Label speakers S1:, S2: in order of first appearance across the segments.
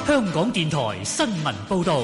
S1: 香港電台新聞報道。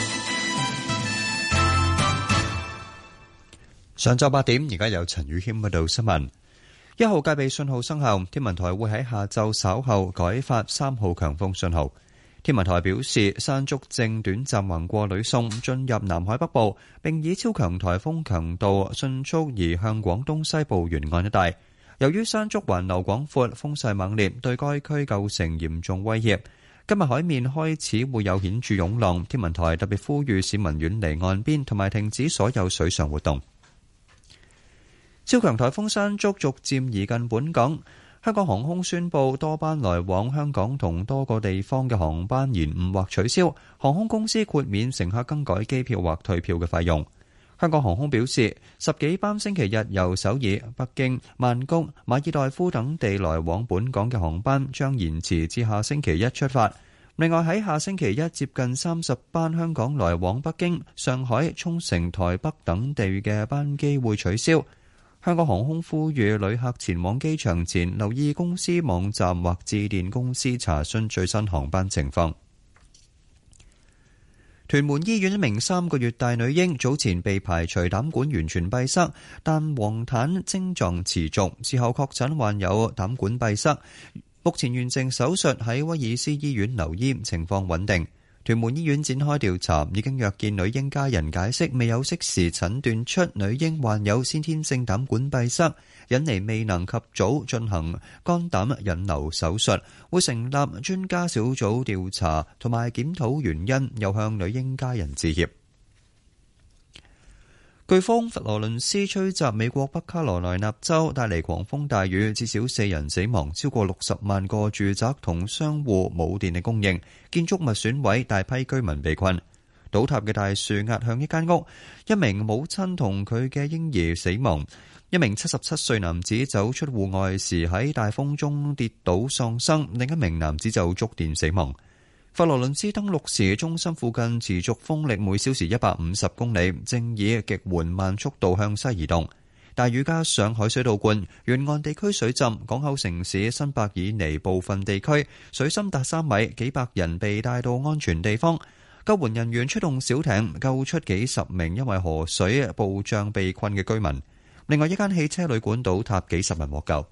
S2: 上晝8點，而家有陳宇謙報道新聞。1號戒備信號生效，天文台會喺下晝稍後改發3號強風信號。天文台表示，山竹正短暫橫過呂宋，進入南海北部，並以超強颱風強度迅速移向廣東西部沿岸一帶。由於山竹環流廣闊，風勢猛烈，對該區構成嚴重威脅。今日海面開始會有顯著湧浪，天文台特別呼籲市民遠離岸邊，同埋停止所有水上活動。超強颱風山竹逐漸移近本港，香港航空宣布多班來往香港同多個地方嘅航班延誤或取消，航空公司豁免乘客更改機票或退票嘅費用。香港航空表示，10幾班星期日由首爾、北京、曼谷、馬爾代夫等地來往本港嘅航班將延遲至下星期一出發。另外喺下星期一接近30班香港來往北京、上海、沖繩、台北等地嘅班機會取消。香港航空呼籲旅客前往機場前留意公司網站或致電公司查詢最新航班情況。屯門醫院一名3個月大女嬰早前被排除膽管完全閉塞，但黃疸症狀持續，之後確診患有膽管閉塞，目前完成手術喺威爾斯醫院留醫，情況穩定。屯門醫院展開調查，已經約見女嬰家人解釋未有適時診斷出女嬰患有先天性膽管閉塞，引嚟未能及早進行肝膽引流手術，會成立專家小組調查同埋檢討原因，又向女嬰家人致歉。颶風佛羅倫斯吹襲美國北卡羅來納州，帶嚟狂風大雨，至少4人死亡，超過60萬個住宅同商戶冇電力供應，建築物損毀，大批居民被困。倒塌嘅大樹壓向一間屋，一名母親同佢嘅嬰兒死亡。一名77歲男子走出戶外時喺大風中跌倒喪生，另一名男子就觸電死亡。佛羅倫斯登陸時，中心附近持續風力每小時150公里，正以極緩慢速度向西移動。大雨加上海水倒灌，沿岸地區水浸，港口城市新伯爾尼部分地區水深達3米，幾百人被帶到安全地方。救援人員出動小艇救出幾十名因為河水暴漲被困嘅居民。另外一間汽車旅館倒塌，幾十人獲救。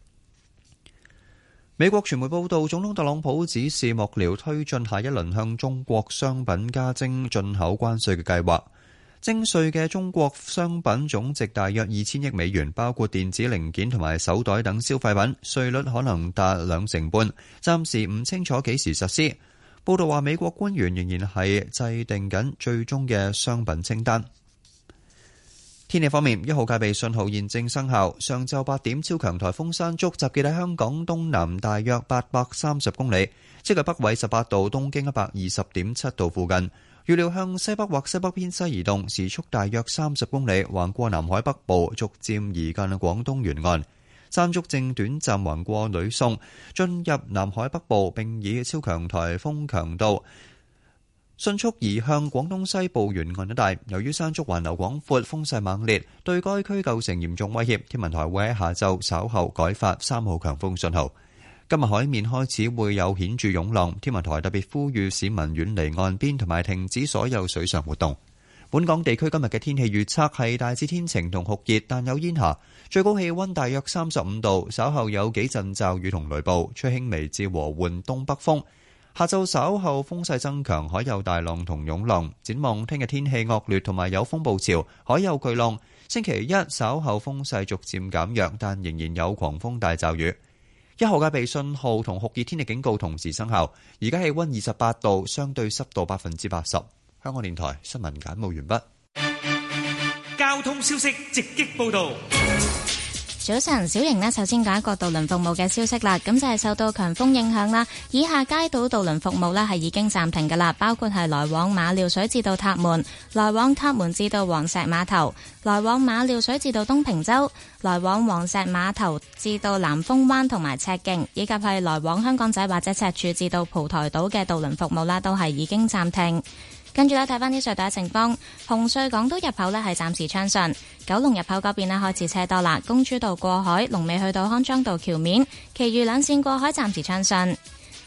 S2: 美國傳媒報道，總統特朗普指示幕僚推進下一輪向中國商品加徵進口關稅嘅計劃。徵稅嘅中國商品總值大約2000億美元，包括電子零件同埋手袋等消費品，稅率可能達2.5%，暫時唔清楚幾時實施。報道話，美國官員仍然係制定緊最終嘅商品清單。天氣方面，1號戒備信號現正生效。上晝8點，超強颱風山竹集結喺香港東南大約830公里，即係北緯18度、東經120.7度附近。預料向西北或西北偏西移動，時速大約30公里，橫過南海北部，逐漸移近廣東沿岸。山竹正短暫橫過呂宋，進入南海北部，並以超強颱風強度迅速移向廣東西部沿岸一帶。由於山竹環流廣闊，風勢猛烈，對該區構成嚴重威脅。天文台會喺下晝稍後改發3號強風信號。今日海面開始會有顯著湧浪，天文台特別呼籲市民遠離岸邊同埋停止所有水上活動。本港地區今日嘅天氣預測係大致天晴同酷熱，但有煙霞，最高氣溫大約35度，稍後有幾陣驟雨同雷暴，吹輕微至和緩東北風。下晝稍後風勢增強，海有大浪同湧浪。展望聽日天氣惡劣同埋有風暴潮，海有巨浪。星期一稍後風勢逐漸減弱，但仍然有狂風大驟雨。1號戒備信號同酷熱天氣警告同時生效。而家氣溫28度，相對濕度80%。香港電台新聞簡報完畢。
S1: 交通消息直擊報道。
S3: 早晨，小瑩呢，首先講一個渡輪服務嘅消息啦。咁就係受到強風影響啦，以下街渡輪服務呢係已經暫停噶啦，包括係來往馬料水至到塔門、來往塔門至到黃石碼頭、來往馬料水至到東平洲、來往黃石碼頭至到南風灣同埋赤徑，以及係來往香港仔或者赤柱至到蒲台島嘅渡輪服務啦，都係已經暫停。跟住咧睇翻啲隧道嘅情況，紅隧港島入口呢係暫時暢順，九龍入口嗰邊呢開始車多啦，公主道過海龍尾去到康莊道橋面，其餘兩線過海暫時暢順。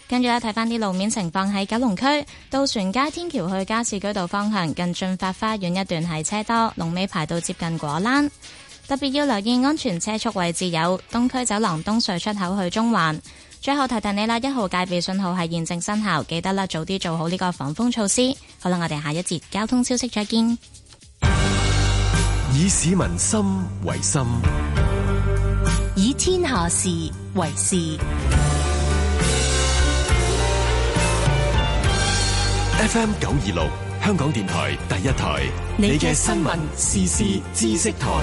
S3: 跟住咧睇翻啲路面情況，喺九龍區渡船街天橋去加士居道方向近駿發花園一段係車多，龍尾排到接近果欄。特別要留意安全車速位置有東區走廊東隧出口去中環。最後提提你啦，1號戒備信號係現正生效，記得啦，早啲做好呢個防風措施。好啦，我哋下一節交通消息再見。
S4: 以市民心為心，
S5: 以天下事為事。
S4: FM 926香港電台第一台，你嘅新聞時事知識台。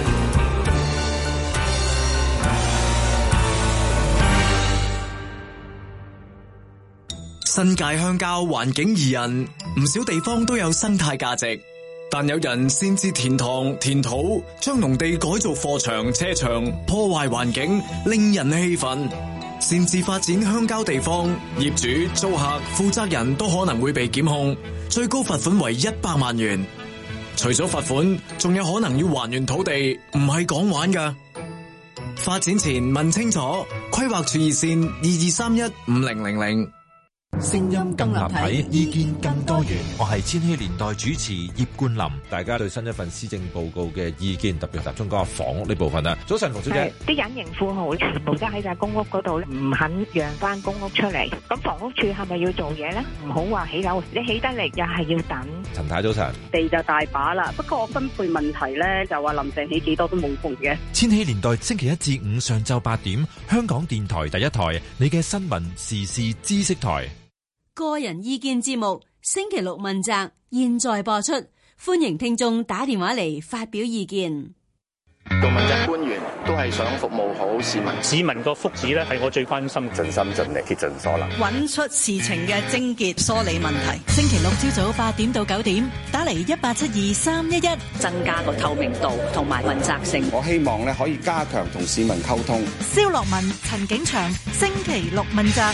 S6: 新界鄉郊環境宜人，唔少地方都有生態價值，但有人擅自填塘填土，將農地改造貨場車場，破壞環境，令人氣憤。擅自發展鄉郊地方，業主、租客、負責人都可能會被檢控，最高罰款為100萬元。除咗罰款，仲有可能要還原土地，唔係講玩㗎。發展前問清楚，規劃處熱線22315000。
S7: 聲音更立體，意見更多元。我係千禧年代主持葉冠霖。大家對新一份施政報告嘅意見，特別集中講下房屋呢部分啦。早晨，馮小姐。
S8: 啲隱形富豪全部都喺晒公屋嗰度，唔肯讓翻公屋出嚟。咁房屋處係咪要做嘢呢？唔好話起樓，你起得嚟又係要等。
S7: 陳太早晨。
S9: 地就大把啦，不過分配問題呢，就話林鄭起幾多都冇用嘅。
S7: 千禧年代星期一至五上晝8點，香港電台第一台，你嘅新聞時事知識台。
S5: 個人意見節目星期六問責，現在播出，歡迎聽眾打電話嚟發表意見。
S10: 做問責官員都係想服務好市民，
S11: 市民個福祉咧係我最關心，
S10: 盡心盡力竭盡所能，
S12: 揾出事情嘅症結，梳理問題。星期六朝早8點到9點，打嚟1872-311，
S9: 增加個透明度同埋問責性。
S13: 我希望咧可以加強同市民溝通。
S12: 蕭樂文、陳景祥，星期六問責。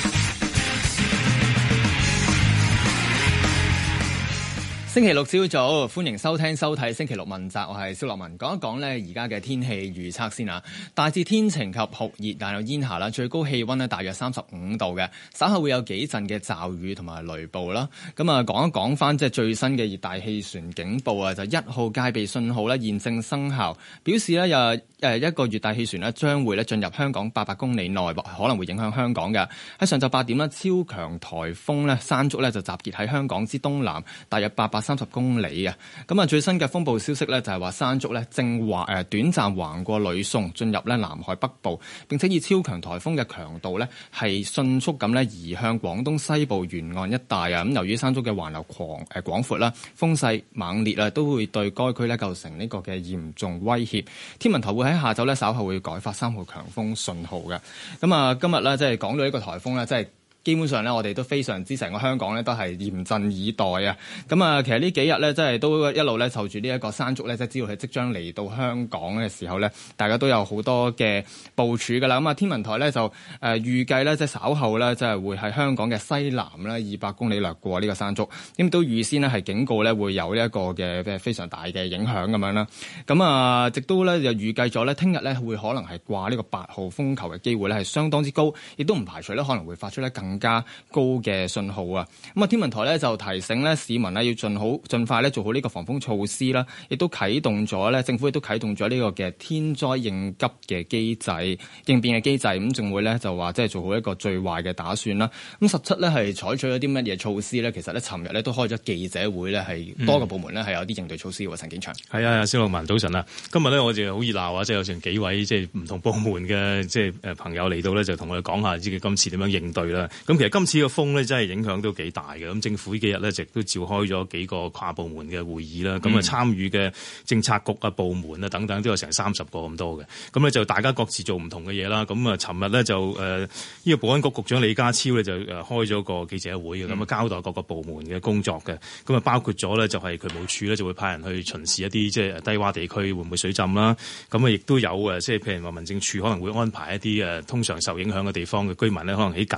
S14: 星期六朝早，歡迎收聽收睇星期六問責，我係蕭樂文。講一講呢而家嘅天氣預測先啊，大致天晴及酷熱，但有煙霞啦，最高氣溫呢大約35度嘅，稍後會有幾陣嘅驟雨同埋雷暴啦。咁啊，講一講翻即係最新嘅熱帶氣旋警報啊，就1號戒備信號呢現正生效，表示呢一個熱帶氣旋呢將會呢進入香港800公里內，可能會影響香港嘅。喺上晝8點呢，超強颱風呢山竹呢就集結喺香港之東南，大約830公里啊！咁啊，最新嘅風暴消息呢，就係話山竹呢正短暫橫過呂宋，進入南海北部，並且以超強颱風嘅強度呢係迅速咁呢移向廣東西部沿岸一帶啊！咁由於山竹嘅環流廣闊啦，風勢猛烈啊，都會對該區呢構成呢個嘅嚴重威脅。天文台會喺下晝呢稍後會改發3號強風信號嘅。咁啊，今日呢，即係講到呢個颱風呢，即係基本上咧，我哋都非常之成個香港咧，都係嚴陣以待啊！咁啊，其實呢幾日咧，即係都一路咧，就住呢一個山竹咧，即係知道佢即將嚟到香港嘅時候咧，大家都有好多嘅部署㗎啦。咁啊，天文台咧就預計咧，即係稍後咧，即係會喺香港嘅西南咧200公里掠過呢個山竹，咁都預先呢係警告咧會有呢一個嘅非常大嘅影響咁樣啦。咁啊，直到咧就預計咗咧，聽日咧會可能係掛呢個8號風球嘅機會咧係相當之高，亦都唔排除咧可能會發出咧更加高嘅信號啊！咁啊，天文台咧就提醒咧市民咧要盡快咧做好呢個防風措施啦，亦都啟動咗咧政府亦都啟動咗呢個嘅天災應急嘅機制應變嘅機制，咁仲會咧就話即係做好一個最壞嘅打算啦。咁實質咧係採取咗啲乜嘢措施咧？其實咧尋日咧都開咗記者會咧，係多個部門咧係有啲應對措施喎。陳景祥
S15: 係啊，蕭樂文早晨啊！今日咧我哋好熱鬧啊，即係有成幾位即係唔同部門嘅即係朋友嚟到咧，就同我哋講下自己今次點樣應對啦。咁其實今次嘅風咧真係影響都幾大嘅。咁政府呢幾日咧，亦都召開咗幾個跨部門嘅會議啦。咁啊參與嘅政策局啊、部門啊等等都有成30個咁多嘅。咁咧就大家各自做唔同嘅嘢啦。咁啊，尋日咧就呢個保安局局長李家超咧就開咗個記者會嘅，咁啊交代各個部門嘅工作嘅。咁啊包括咗咧就係渠務署咧就會派人去巡視一啲即係低洼地區會唔會水浸啦。咁啊亦都有即係譬如話民政處可能會安排一啲通常受影響嘅地方嘅居民咧，可能喺緊急時候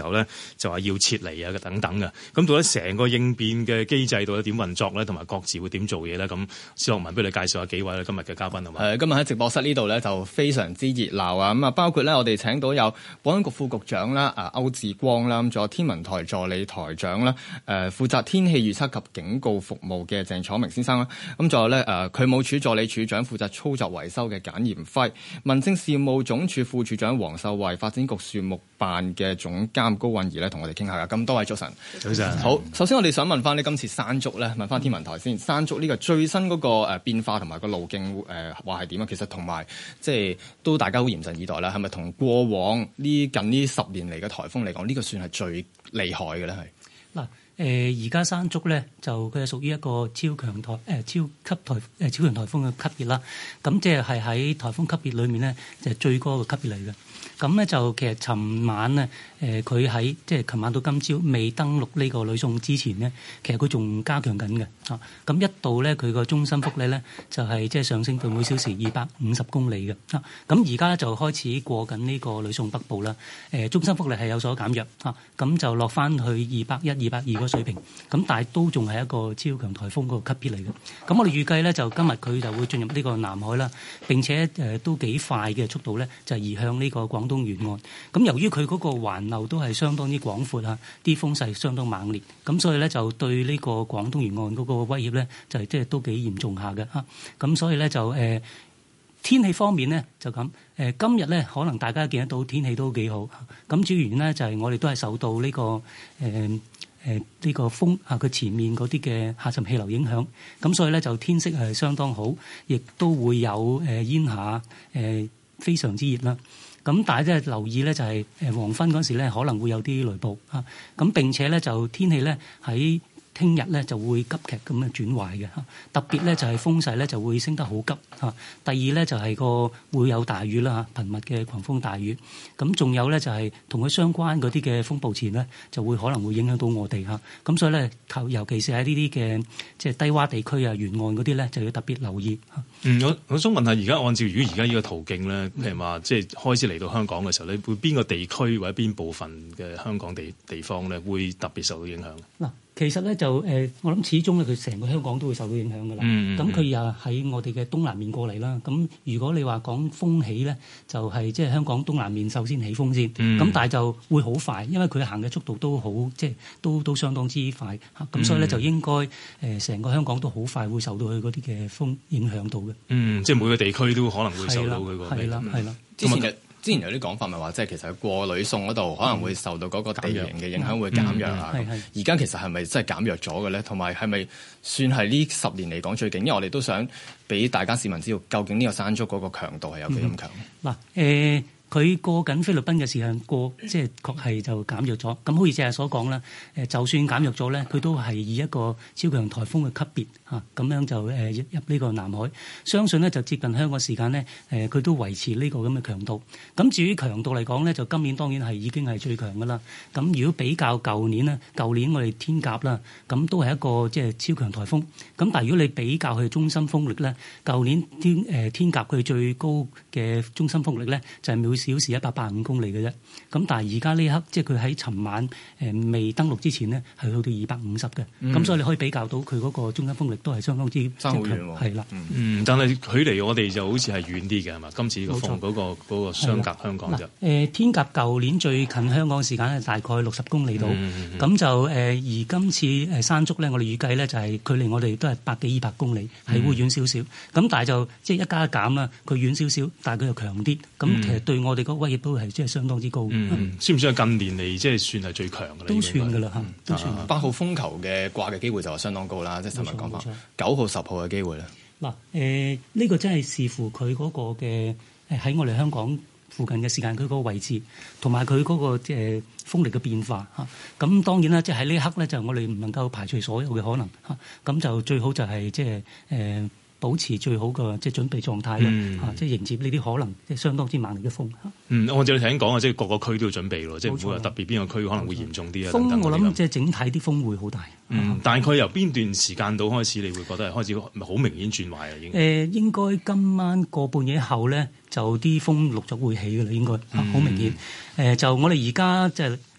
S15: 候咧，就話要撤離啊等等嘅。咁到底成個應變嘅機制到底點運作咧，同埋各自會點做嘢咧？咁施樂文，不如你介紹下幾位咧今日嘅嘉賓好嘛？
S14: 今日喺直播室呢度咧就非常之熱鬧啊！咁啊，包括咧我哋請到有保安局副局長啦，歐志光啦，咁仲有天文台助理台長啦，負責天氣預測及警告服務嘅鄭楚明先生啦，咁仲有咧渠務署助理署長負責操作維修嘅簡炎輝，民政事務總署副署長黃秀慧，發展局樹木辦嘅總監高韻儀咧，同我哋傾下噶。咁多位早晨，
S15: 早晨。
S14: 好，首先我哋想問翻呢今次山竹咧，問翻天文台先，山竹呢個最新嗰個變化同埋個路徑話係點啊？其實同埋即係都大家好嚴陣以待啦。係咪同過往近呢10年嚟嘅颱風嚟講，呢個算係最厲害嘅咧？係
S16: 嗱。而家山竹咧就佢係屬於一個超強颱風嘅級別啦，咁即係喺颱風級別裏面咧就係最高嘅級別嚟嘅。咁咧就其實尋晚咧佢喺即係尋晚到今朝未登陸呢個呂宋之前咧，其實佢仲加強緊嘅嚇。咁一度咧佢個中心風力咧就係即係上升到每小時250公里嘅嚇。咁而家就開始過緊呢個呂宋北部啦。中心風力係有所減弱嚇，咁就落翻去201、202個水平。咁但係都仲係一個超強颱風嗰個級別嚟嘅。咁我哋預計咧就今日佢就會進入呢個南海啦，並且都幾快嘅速度咧就移向呢個廣東沿岸。咁由於佢嗰個環流都係相當之廣闊啊，啲風勢相當猛烈，咁所以咧就對呢個廣東沿岸嗰個威脅咧就係即係都幾嚴重下嘅嚇。咁所以咧就天氣方面咧就咁今日咧可能大家見得到天氣都幾好。咁主要原因咧就係我哋都係受到呢個呢個風佢前面嗰啲嘅下沉氣流影響，咁所以咧就天色係相當好，亦都會有煙霞非常之熱啦。咁但係即係留意咧，就係黃昏嗰時咧可能會有啲雷暴啊。咁並且咧就天氣咧喺聽日咧就會急劇咁樣轉壞嘅嚇，特別咧就係風勢咧就會升得好急嚇。第二咧就係個會有大雨啦嚇，頻密嘅狂風大雨。咁仲有咧就係同佢相關嗰啲嘅風暴潮咧，就會可能會影響到我哋嚇。咁所以咧，尤其是喺呢啲嘅即係低窪地區啊、沿岸嗰啲咧，就要特別留意嚇。
S15: 我想問下，而家按照如果而家呢個途徑咧，譬如話即係開始嚟到香港嘅時候咧，會邊個地區或者邊部分嘅香港地方咧會特別受到影響？嗱。
S16: 其實咧就我諗始終咧佢成個香港都會受到影響㗎啦。咁佢又喺我哋嘅東南面過嚟啦。咁如果你話講風起咧，就係即係香港東南面首先起風先。咁但係就會好快，因為佢行嘅速度都好，即係都相當之快。咁所以咧就應該成個香港都好快會受到佢嗰啲嘅風影響到嘅。
S15: 即係每個地區都可能會受到佢個。
S16: 係啦。
S14: 之前有啲講法咪話，即係其實過呂宋嗰度可能會受到嗰個地形嘅影響會減弱啊。而家其實係咪真係減弱咗嘅咧？同埋係咪算係呢10年嚟講最勁？因為我哋都想俾大家市民知道，究竟呢個山竹嗰個強度係有幾咁強？
S16: 嗱佢過緊菲律賓嘅時間即係確係就減弱咗。咁好似正係所講啦，就算減弱咗咧，佢都係以一個超強颱風嘅級別嚇，咁樣就入呢個南海。相信咧就接近香港時間咧，佢都維持呢個咁嘅強度。咁至於強度嚟講咧，就今年當然係已經係最強噶啦。咁如果比較舊年咧，舊年我哋天鴿啦，咁都係一個即係超強颱風。咁但係如果你比較佢中心風力咧，舊年天鴿佢最高嘅中心風力咧就係每小時185公里嘅啫，咁但係而家呢刻即係佢喺尋晚未登陸之前呢，係去到250嘅，咁所以你可以比較到佢嗰個中心風力都係相當之
S14: 爭好遠喎。
S16: 係啦，
S15: 但係距離我哋就好似係遠啲嘅係嘛？今次個風嗰個相隔香港就
S16: 天鴿舊年最近香港時間係大概60公里度，咁就而今次山竹咧，我哋預計咧就係距離我哋都係100幾200公里，係會遠少少。咁但係就即係一加一減啦，佢遠少少，但係佢又強啲。咁其實對我哋個威脅都係即係相當之高。
S15: 算唔算係近年嚟即係算係最強嘅咧？
S16: 都算㗎啦，都算。
S14: 8號風球嘅掛嘅機會就係相當高啦，即係新聞講法。9號、10號嘅機會咧？
S16: 嗱，呢個真係視乎佢嗰個嘅喺我哋香港附近嘅時間，佢嗰個位置同埋佢嗰個風力嘅變化嚇。咁當然啦，即係喺呢一刻咧，就我哋唔能夠排除所有嘅可能嚇。咁就最好就係即係保持最好嘅即係準備狀態啦，即係迎接呢啲可能即係相當之猛烈嘅風。
S15: 按照你頭先講啊，即係各個區都要準備咯，即係唔會話特別邊個區可能會嚴重啲啊。
S16: 風我諗即係整體啲風會好大。
S15: 大概由邊段時間到開始，你會覺得係開始好明顯轉壞啊？已經
S16: 應該今晚個半夜後咧，就啲風陸續會起㗎啦，應該好明顯。就我哋而家即係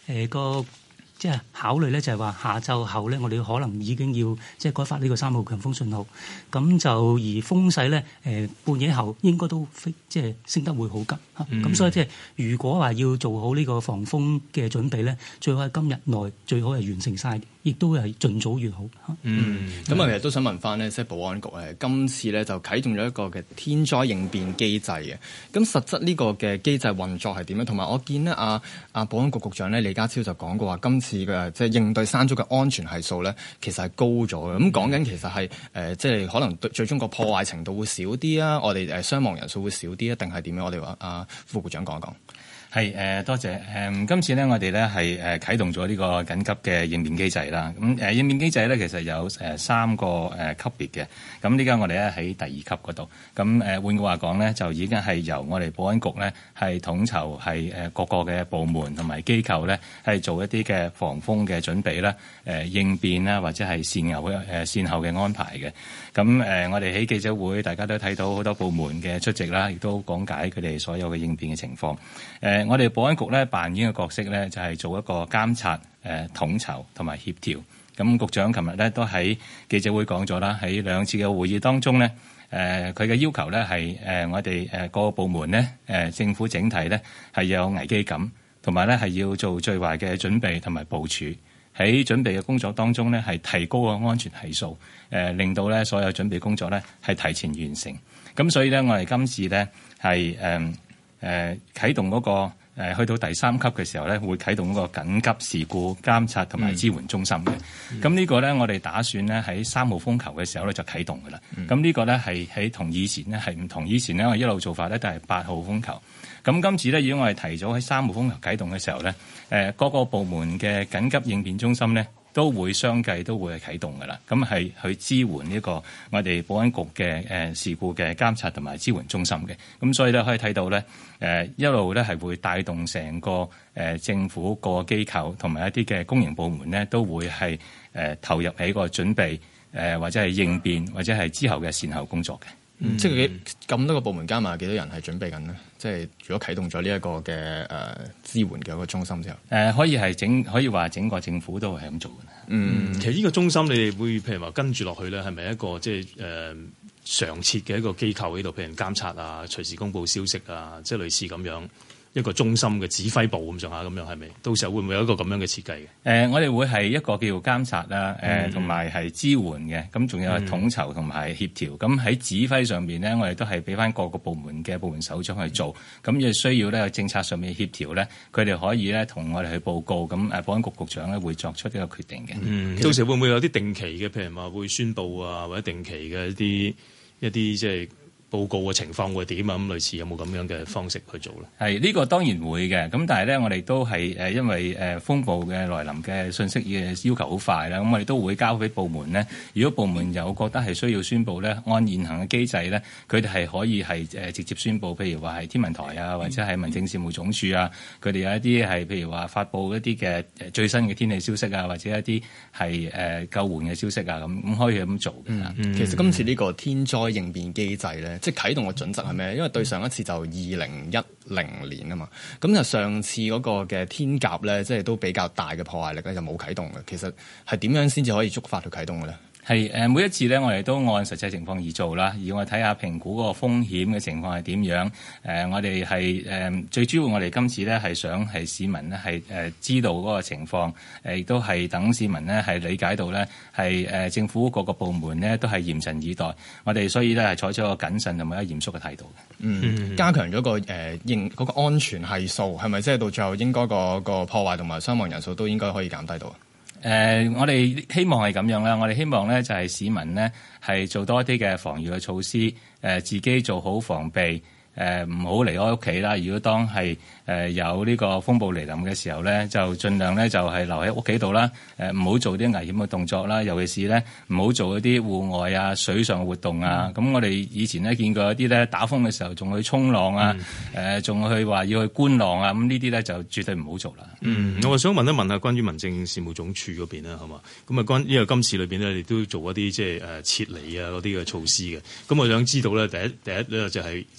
S16: 個即係考慮咧，就係話下晝後咧，我哋可能已經要即係改發呢個3號強風信號。咁就而風勢咧，半夜後應該都即係升得會好急嚇。咁所以即係如果話要做好呢個防風嘅準備咧，最好喺今日內最好係完成晒，亦都係盡早越好。
S14: 咁我其實都想問翻呢，即係保安局今次咧就啟動咗一個嘅天災應變機制嘅。咁實質呢個嘅機制運作係點樣？同埋我見呢保安局局長咧李家超就講過話，今次嘅即係應對山竹嘅安全係數咧，其實係高咗嘅。咁講緊其實係即係可能最終個破壞程度會少啲啊，我哋傷亡人數會少啲啊，定係點樣？我哋話副局長講一講。
S17: 係多謝今次咧，我哋咧係啟動咗呢個緊急嘅應變機制啦。咁應變機制咧，其實有3個級別嘅。咁呢家我哋咧喺第2級嗰度。咁換句話講咧，就已經係由我哋保安局咧係統籌係各個嘅部門同埋機構咧係做一啲嘅防風嘅準備啦、應變啦，或者係善後嘅安排嘅。咁我哋喺記者會，大家都睇到好多部門嘅出席啦，亦都講解佢哋所有嘅應變嘅情況。我哋保安局咧扮演嘅角色咧，就係做一個監察、統籌同埋協調。咁局長琴日咧都喺記者會講咗啦，喺2次嘅會議當中咧，佢嘅要求咧係我哋各個部門咧，政府整體咧係有危機感，同埋咧係要做最壞嘅準備同埋部署。喺準備嘅工作當中咧，係提高個安全係數，令到咧所有準備工作咧係提前完成。咁所以咧，我哋今次咧係啟動嗰個去到第3級嘅時候咧，會啟動嗰個緊急事故監察同埋支援中心嘅。咁呢個咧，我哋打算咧喺3號風球嘅時候咧就啟動㗎啦。咁呢個咧係喺同以前咧係唔同，以前咧我一路做法咧都係8號風球。咁今次咧，如果我哋提早喺3號風球啟動嘅時候咧，各個部門嘅緊急應變中心咧，都會相繼都會係啟動㗎啦，咁係去支援呢個我哋保安局嘅事故嘅監察同埋支援中心嘅，咁所以咧可以睇到咧一路咧係會帶動成個政府個機構同埋一啲嘅公營部門咧都會係投入喺個準備或者係應變或者係之後嘅善後工作嘅。
S14: 即係咁多個部門加埋幾多人係準備緊呢？即係如果啟動咗呢一個嘅支援嘅一個中心之後，
S17: 可以話整個政府都係咁做嘅。
S15: 其實呢個中心你哋會譬如話跟住落去咧，係咪一個即係常設嘅一個機構喺度，譬如監察啊、隨時公佈消息啊，即係類似咁樣一個中心嘅指揮部咁上下咁樣，係咪？到時候會唔會有一個咁樣嘅設計嘅？
S17: 我哋會係一個叫做監察啦，同埋係支援嘅，咁仲有係統籌同埋協調。咁喺指揮上邊咧，我哋都係俾翻各個部門嘅部門首長去做。咁亦需要咧政策上面協調咧，佢哋可以咧同我哋去報告。咁保安局局長咧會作出呢個決定嘅。
S15: 到時會唔會有啲定期嘅，譬如話會宣佈啊，或者定期嘅一啲即係報告嘅情況會點啊？咁類似有冇咁樣嘅方式去做咧？
S17: 係呢個當然會嘅，咁但係咧我哋都係因為風暴嘅來臨嘅信息嘅要求好快啦，咁我哋都會交俾部門咧。如果部門有覺得係需要宣佈咧，按現行嘅機制咧，佢哋係可以係直接宣佈，譬如話係天文台啊，或者係民政事務總署啊，佢哋有一啲係譬如話發布一啲嘅最新嘅天氣消息啊，或者一啲係救援嘅消息啊，咁可以咁做嘅。
S14: 其實今次呢個天災應變機制咧，即係啟動嘅準則係咩？因為對上一次就2010年啊嘛，咁就上次嗰個嘅天鴿咧，即係都比較大嘅破壞力咧，就冇啟動嘅。其實係點樣先至可以觸發去啟動嘅咧？
S17: 係每一次咧，我哋都按實際情況而做啦。而我睇下評估嗰個風險嘅情況係點樣。我哋係最主要，我哋今次咧係想係市民咧係知道嗰個情況，亦都係等市民咧係理解到咧係政府各個部門咧都係嚴陣以待。我哋所以咧係採取一個謹慎同埋一個嚴肅嘅態度嘅。
S14: 加強咗個嗰個安全係數，係咪即係到最後應該個破壞同埋傷亡人數都應該可以減低到？
S17: 我哋希望係咁樣啦。我哋希望咧就係市民咧係做多啲嘅防禦嘅措施，自己做好防備，唔好離開屋企啦。如果當係有呢個風暴嚟臨嘅時候咧，就盡量咧就係留喺屋企度啦。唔好做啲危險嘅動作啦，尤其是咧唔好做一啲戶外啊、水上嘅活動啊。咁我哋以前咧見過一啲咧打風嘅時候仲去衝浪啊，仲去話要去觀浪啊。咁呢啲咧就絕對唔好做啦。
S15: 我想問一問下關於民政事務總署嗰邊啦，係嘛？咁啊因為今次裏邊咧，你都做一啲即係撤離啊嗰啲嘅措施嘅。咁我想知道咧，第一咧就係即係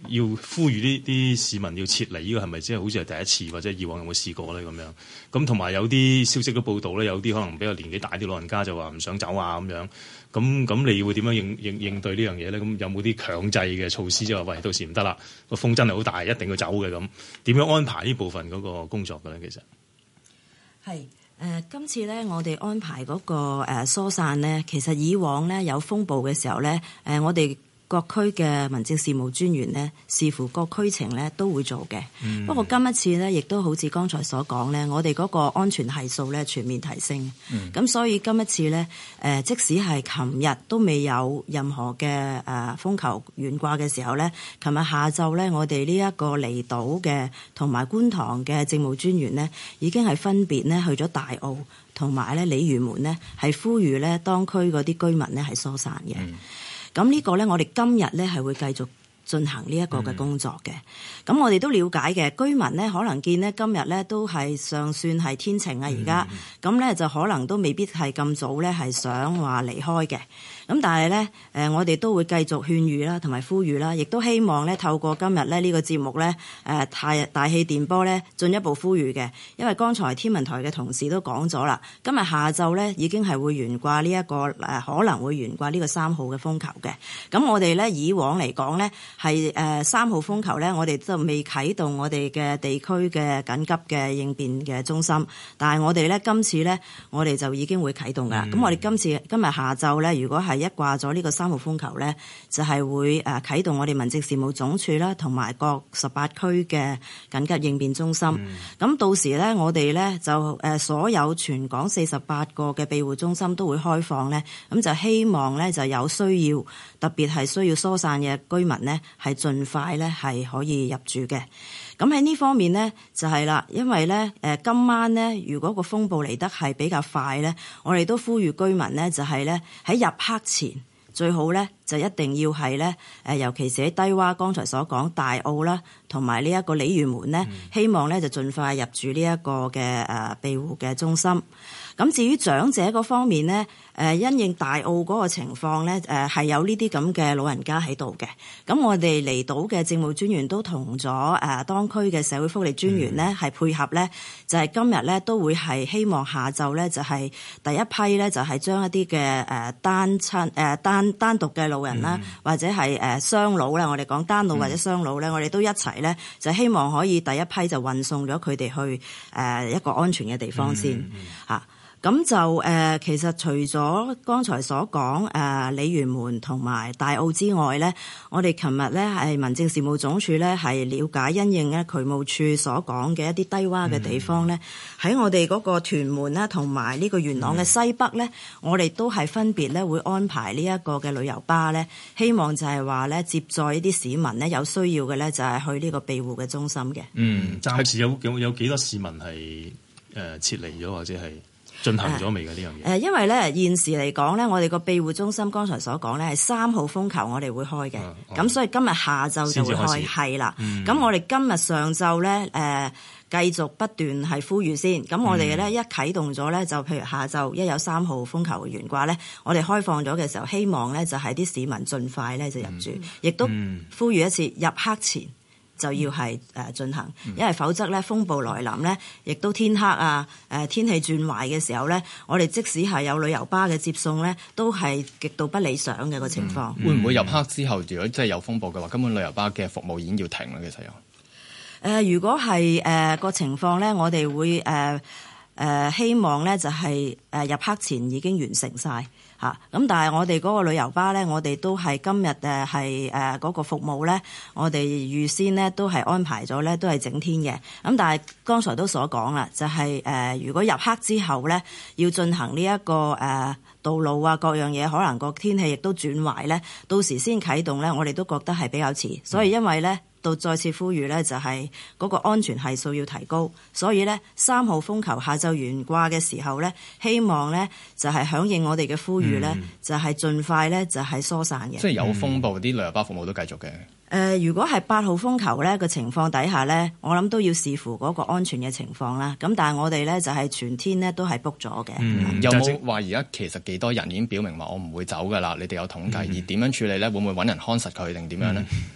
S15: 要呼籲呢啲市民要撤離，呢個係咪即係好似係第一次，或者以往有冇試過咧咁樣？咁同埋有啲消息都報道咧，有啲可能比較年紀大啲老人家就話唔想走啊咁樣。咁你會點樣應對呢樣嘢咧？咁有冇啲強制嘅措施，即係話喂，到時唔得啦，個風真係好大，一定要走嘅咁？點樣安排呢部分嗰個工作嘅咧？其實
S18: 係。今次咧，我哋安排嗰個疏散咧，其實以往咧有風暴嘅時候咧，我哋各區嘅民政事務專員咧，視乎各區情咧都會做嘅。不過今一次咧，亦都好似剛才所講咧，我哋嗰個安全係數咧全面提升。咁所以今一次咧，即使係琴日都未有任何嘅風球懸掛嘅時候咧，琴日下晝咧，我哋呢一個離島嘅同埋觀塘嘅政務專員咧，已經係分別咧去咗大澳同埋咧鯉魚門咧，係呼籲咧當區嗰啲居民咧係疏散嘅。咁呢個咧，我哋今日咧係會繼續進行呢一個嘅工作嘅。咁我哋都了解嘅，居民咧可能見咧今日咧都係尚算係天晴啊，而家咁咧就可能都未必係咁早咧係想話離開嘅。咁但係咧，我哋都會繼續勸喻啦，同埋呼籲啦，亦都希望咧透過今日咧呢個節目咧，大氣電波咧進一步呼籲嘅。因為剛才天文台嘅同事都講咗啦，今日下晝咧已經係會懸掛呢一個可能會懸掛呢個3號嘅風球嘅。咁我哋咧以往嚟講咧係3號風球咧，我哋就未啟動我哋嘅地區嘅緊急嘅應變嘅中心，但係我哋咧今次咧我哋就已經會啟動㗎。咁我哋今日下晝咧，如果係一掛咗呢個3號風球咧，就係會啟動我哋民政事務總署啦，同埋各18區嘅緊急應變中心。咁到時咧，我哋咧就所有全港48個嘅庇護中心都會開放咧，咁就希望咧就有需要，特別係需要疏散嘅居民咧，係盡快咧係可以入住嘅。咁喺呢方面呢，就係啦，因為咧今晚呢，如果個風暴嚟得係比較快咧，我哋都呼籲居民呢，就係咧喺入黑前最好咧就一定要係咧尤其是喺低窪，剛才所講大澳啦，同埋呢一個鯉魚門呢，希望咧就盡快入住呢一個嘅庇護嘅中心。咁至於長者嗰方面呢，因應大澳嗰個情況呢，係有呢啲咁嘅老人家喺度嘅。咁我哋離島嘅政務專員都同咗當區嘅社會福利專員呢係配合呢，就係今日呢都會係希望下晝呢就係第一批呢就係將一啲嘅單獨嘅老人啦，或者係雙老啦，我哋講單老或者雙老呢，我哋都一齊呢，就希望可以第一批就運送咗佢哋去一個安全嘅地方先嚇。咁就其實除咗剛才所講鯉魚門同埋大澳之外咧，我哋琴日咧係民政事務總署咧係了解因應咧渠務處所講嘅一啲低窪嘅地方咧，喺我哋嗰個屯門啦同埋呢個元朗嘅西北咧，我哋都係分別咧會安排呢一個嘅旅遊巴咧，希望就係話咧接載呢啲市民咧有需要嘅咧就係去呢個庇護嘅中心嘅。
S15: 暫時有幾多市民係撤離咗或者係進行咗未嘅呢樣嘢？
S18: 因為咧現時嚟講咧，我哋個庇護中心剛才所講咧係3號風球我哋會開嘅，咁所以今日下晝就會開，係啦。咁我哋今日上晝咧繼續不斷係呼籲先。咁我哋咧一啟動咗咧，就譬如下晝一有3號風球懸掛咧，我哋開放咗嘅時候，希望咧就係啲市民盡快咧就入住，亦都呼籲一次入黑前就要係進行，因為否則咧風暴來臨咧，亦都天黑啊，天氣轉壞嘅時候咧，我哋即使係有旅遊巴嘅接送咧，都係極度不理想嘅個情況。
S14: 會唔會入黑之後，如果真係有風暴嘅話，根本旅遊巴嘅服務已經要停啦？其實有
S18: 如果係個情況咧，我哋會希望咧就係入黑前已經完成晒。咁但係我哋嗰個旅遊巴咧，我哋都係今日係嗰個服務咧，我哋預先咧都係安排咗咧，都係整天嘅。咁但係剛才都所講啦，就係如果入黑之後咧，要進行呢一個道路啊各樣嘢，可能個天氣亦都轉壞咧，到時先啟動咧，我哋都覺得係比較遲。所以因為咧，到再次呼籲咧，就係嗰個安全係數要提高，所以咧3號風球下晝懸掛嘅時候咧，希望咧就係響應我哋嘅呼籲咧，就係盡快咧就係疏散嘅。
S14: 即係有風暴，啲旅遊巴服務都繼續嘅。
S18: 如果係8號風球咧個情況底下咧，我諗都要視乎嗰個安全嘅情況啦。咁但係我哋咧就係全天咧都係 book 咗嘅。
S14: 有冇話而家其實幾多人已經表明話我唔會走㗎啦？你哋有統計，而點樣處理咧？會唔會揾人看實佢定點樣咧？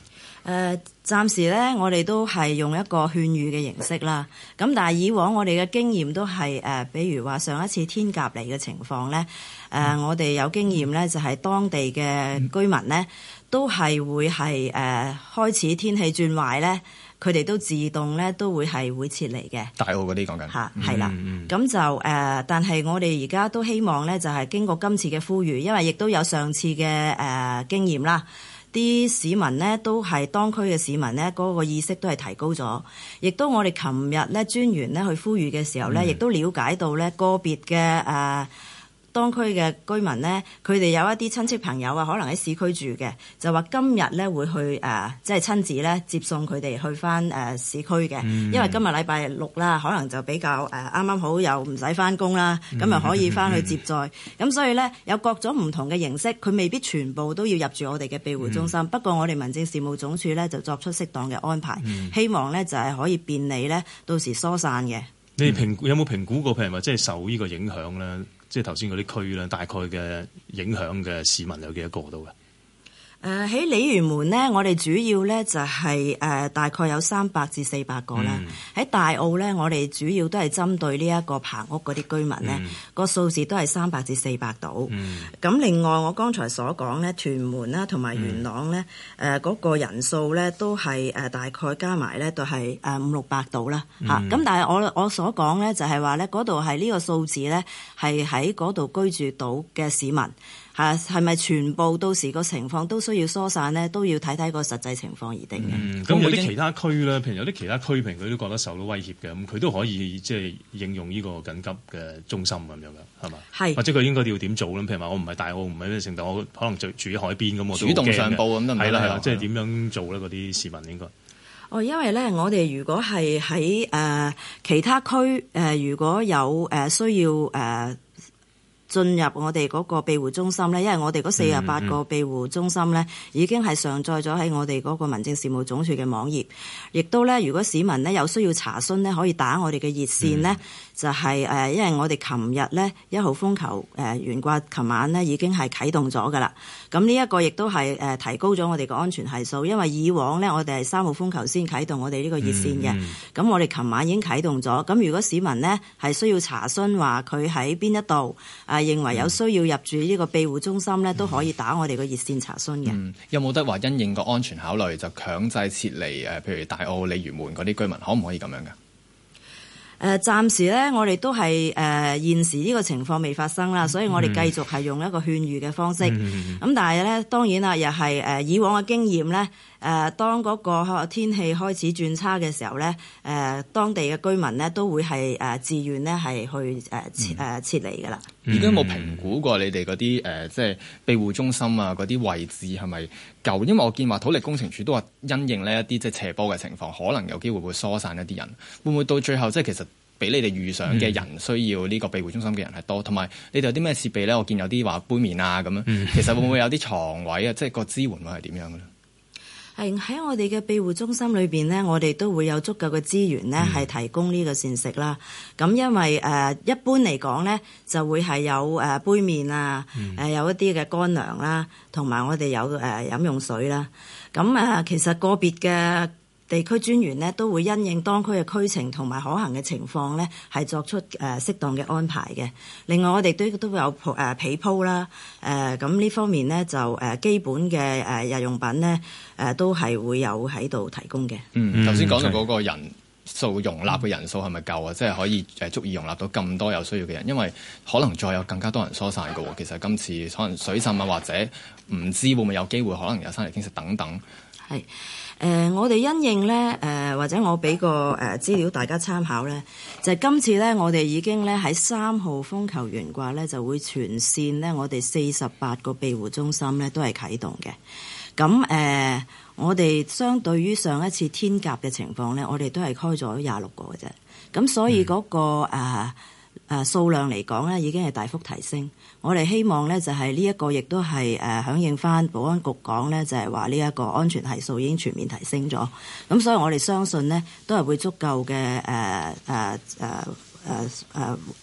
S18: 暫時咧，我哋都係用一個勸喻嘅形式啦。咁但係以往我哋嘅經驗都係比如話上一次天鴿嚟嘅情況咧，我哋有經驗咧，就係當地嘅居民咧，都係會係開始天氣轉壞咧，佢哋都自動咧都會撤離嘅。
S14: 大澳嗰啲講緊
S18: 嚇係啦，咁就但係我哋而家都希望咧，就係經過今次嘅呼籲，因為亦都有上次嘅經驗啦。啲市民呢都係當區嘅市民呢，嗰個意識都係提高咗，亦都我哋琴日呢專員呢去呼籲嘅時候呢，亦都了解到呢個別嘅當區嘅居民呢，佢哋有一啲親戚朋友啊，可能喺市區住嘅，就話今日呢會去即係親自呢接送佢哋去翻市區嘅，因為今日禮拜六啦，可能就比較啱啱好又唔使翻工啦，咁又可以翻去接載，咁所以呢，有各種唔同嘅形式，佢未必全部都要入住我哋嘅庇護中心，不過我哋民政事務總署呢就作出適當嘅安排，希望呢就係可以便利呢到時疏散嘅。
S15: 你哋有冇評估過譬如話即係受呢個影響咧？即係頭先嗰啲區咧，大概嘅影響嘅市民有幾多個到嘅？喺
S18: 鯉魚門呢，我哋主要呢就係大概有300至400個啦。喺大澳呢，我哋主要都係針對呢一個棚屋嗰啲居民呢，個數字都係300至400度。咁另外我剛才所講呢，屯門啦同埋元朗呢，嗰個人數呢都係大概加埋呢都係500-600度啦嚇。咁但係我所講呢，就係話呢，嗰度係呢個數字呢，係喺嗰度居住到嘅市民。係咪全部到時個情況都需要疏散呢？都要睇睇個實際情況而定嘅。
S15: 咁有啲其他區咧，譬如有啲其他區，譬如佢都覺得受到威脅嘅，咁佢都可以即係應用呢個緊急嘅中心咁樣嘅，係嘛？係。或者佢應該要點做咧？譬如話我唔係大澳，唔係咩城，但我可能住喺海邊咁，我都
S14: 主動上報咁得唔得？
S15: 係啦，即係點樣做咧？嗰啲市民應該。
S18: 因為咧，我哋如果係喺其他區如果有需要進入我哋嗰個庇護中心咧，因為我哋嗰48個庇護中心咧，已經係上載咗喺我哋嗰個民政事務總署嘅網頁，亦都咧，如果市民咧有需要查詢咧，可以打我哋嘅熱線咧，就係因為我哋琴日咧1號風球懸掛，琴晚咧已經係啟動咗㗎啦。咁呢一個亦都係提高咗我哋個安全係數，因為以往咧我哋係3號風球先啟動我哋呢個熱線嘅，咁我哋琴晚已經啟動咗。咁如果市民呢係需要查詢話佢喺邊一度認為有需要入住呢個庇護中心咧，都可以打我哋個熱線查詢嘅。
S14: 有冇得話因應個安全考慮就強制撤離譬如大澳、鯉魚門嗰啲居民，可唔可以咁樣㗎？
S18: 暫時咧，我哋都係現時呢個情況未發生啦，所以我哋繼續係用一個勸喻嘅方式。咁但係咧，當然啦，又係以往嘅經驗咧。當嗰個天氣開始轉差嘅時候咧，當地嘅居民咧都會係自願咧係去撤離㗎啦。
S14: 而家有冇評估過你哋嗰啲即係庇護中心啊嗰啲位置係咪夠？因為我見話土力工程處都話因應呢一啲即係斜坡嘅情況，可能有機會會疏散一啲人。會唔會到最後即係其實比你哋預想嘅人需要呢個庇護中心嘅人係多？同埋你哋有啲咩設備咧？我見有啲話杯麵啊咁樣，其實會唔會有啲床位啊？即係個支援會係點樣嘅咧？
S18: 喺我哋嘅庇護中心裏邊呢，我哋都會有足夠嘅資源呢係提供呢個膳食啦。咁因為一般嚟講呢，就會係有杯麵啊，有一啲嘅乾糧啦，同埋我哋有飲用水啦。咁其實個別嘅地區專員呢都會因應當區嘅區情同埋可行嘅情況呢，係作出適當嘅安排嘅。另外我哋都會有被鋪啦，咁呢方面呢，就基本嘅日用品呢，都係會有喺度提供嘅。
S14: 頭先講到嗰個人數容納嘅人數係咪夠啊？即係可以足以容納到咁多有需要嘅人，因為可能再有更加多人疏散嘅喎。其實今次可能水浸啊，或者唔知會唔會有機會可能有山泥傾瀉等等。係。
S18: 我哋因應咧，或者我俾個資料大家參考咧，就係今次咧，我哋已經咧喺3號風球懸掛咧，就會全線咧，我哋48個庇護中心咧都係啟動嘅。咁我哋相對於上一次天鴿嘅情況咧，我哋都係開咗26個嘅啫。咁所以嗰個數量嚟講咧，已經係大幅提升。我哋希望咧就係呢一個亦都係響應翻保安局講咧，就係話呢一個安全係數已經全面提升咗。咁所以我哋相信呢，都係會足夠嘅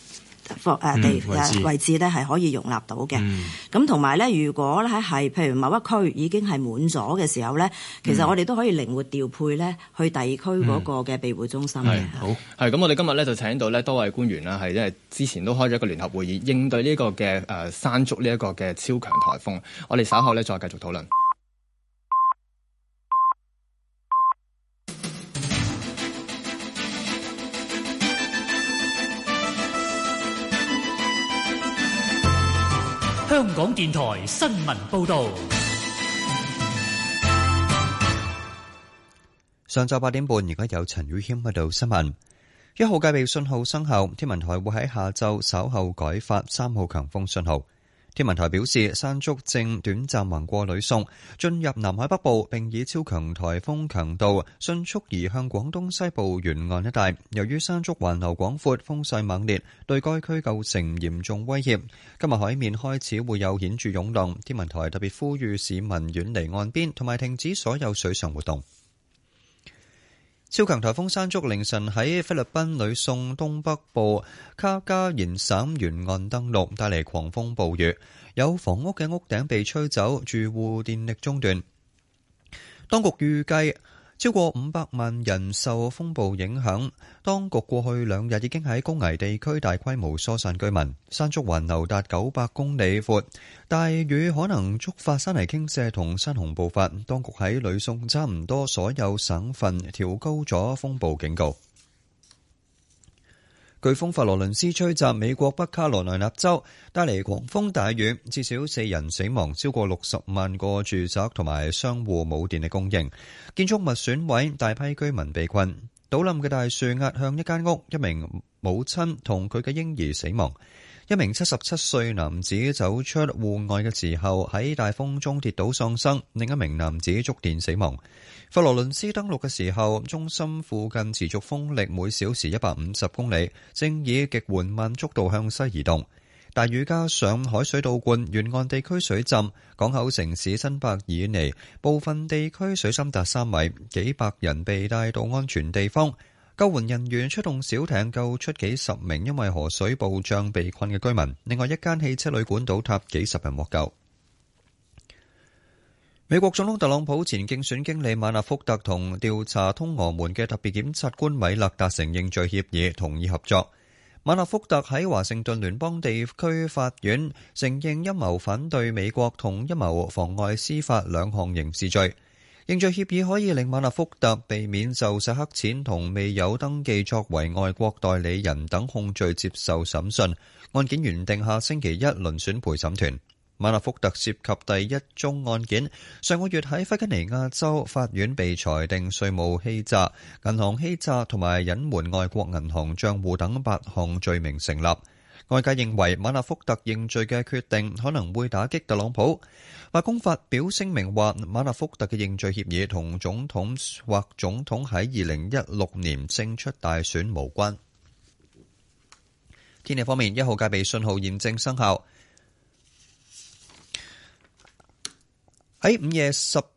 S18: 位置咧係可以容納到嘅。咁同埋咧，如果咧係譬如某一區已經係滿咗嘅時候咧，其實我哋都可以靈活調配咧去第二區嗰個嘅庇護中心嘅。
S14: 好，係咁，我哋今日咧就請到咧多位官員啦，係因為之前都開咗一個聯合會議，應對呢個嘅山竹呢一個嘅超強颱風。我哋稍後咧再繼續討論。
S1: 香港電台新聞報導。
S2: 上晝8點半，而家有陳宇謙喺度新聞。1號戒備信號生效，天文台會喺下晝稍後改發3號強風信號。天文台表示，山竹正短暫橫過呂宋，進入南海北部，並以超強颱風強度迅速移向廣東西部沿岸一帶。由於山竹環流廣闊，風勢猛烈，對該區構成嚴重威脅。今日海面開始會有顯著湧浪，天文台特別呼籲市民遠離岸邊，同埋停止所有水上活動。超強颱風山竹凌晨喺菲律賓呂宋東北部卡加延省沿岸登陸，帶嚟狂風暴雨，有房屋嘅屋頂被吹走，住戶電力中斷。當局預計超過500萬人受風暴影響，當局過去2日已經喺高危地區大規模疏散居民。山竹環流達900公里闊，大雨可能觸發山泥傾瀉同山洪暴發。當局喺呂宋差唔多所有省份調高咗風暴警告。颶風佛羅倫斯吹襲美國北卡羅來納州，帶嚟狂風大雨，至少4人死亡，超過60萬個住宅同埋商戶冇電力供應，建築物損毀，大批居民被困。倒冧嘅大樹壓向一間屋，一名母親同佢嘅嬰兒死亡。一名77歲男子走出戶外嘅時候喺大風中跌倒喪生，另一名男子觸電死亡。佛羅倫斯登陸嘅時候，中心附近持續風力每小時150公里，正以極緩慢速度向西移動。大雨加上海水倒灌，沿岸地區水浸，港口城市新伯爾尼部分地區水深達3米，幾百人被帶到安全地方。救援人員出動小艇救出幾十名因為河水暴漲被困嘅居民，另外一間汽車旅館倒塌，幾十人獲救。美國總統特朗普前競選經理馬納福特同調查通俄門嘅特別檢察官米勒達成認罪協議，同意合作。馬納福特喺華盛頓聯邦地區法院承認陰謀反對美國同陰謀妨礙司法2項刑事罪。認罪協議可以令馬納福特避免就洗黑錢同未有登記作為外國代理人等控罪接受審訊。案件原定下星期一輪選陪審團。馬納福特涉及第一宗案件，上個月喺弗吉尼亞州法院被裁定稅務欺詐、銀行欺詐同埋隱瞞外國銀行帳戶等8項罪名成立。外界認為馬納福特認罪嘅決定可能會打擊特朗普。白宮發表聲明話，馬納福特嘅認罪協議同總統或總統喺2016年勝出大選無關。天氣方面，1號戒備信號現正生效。喺午夜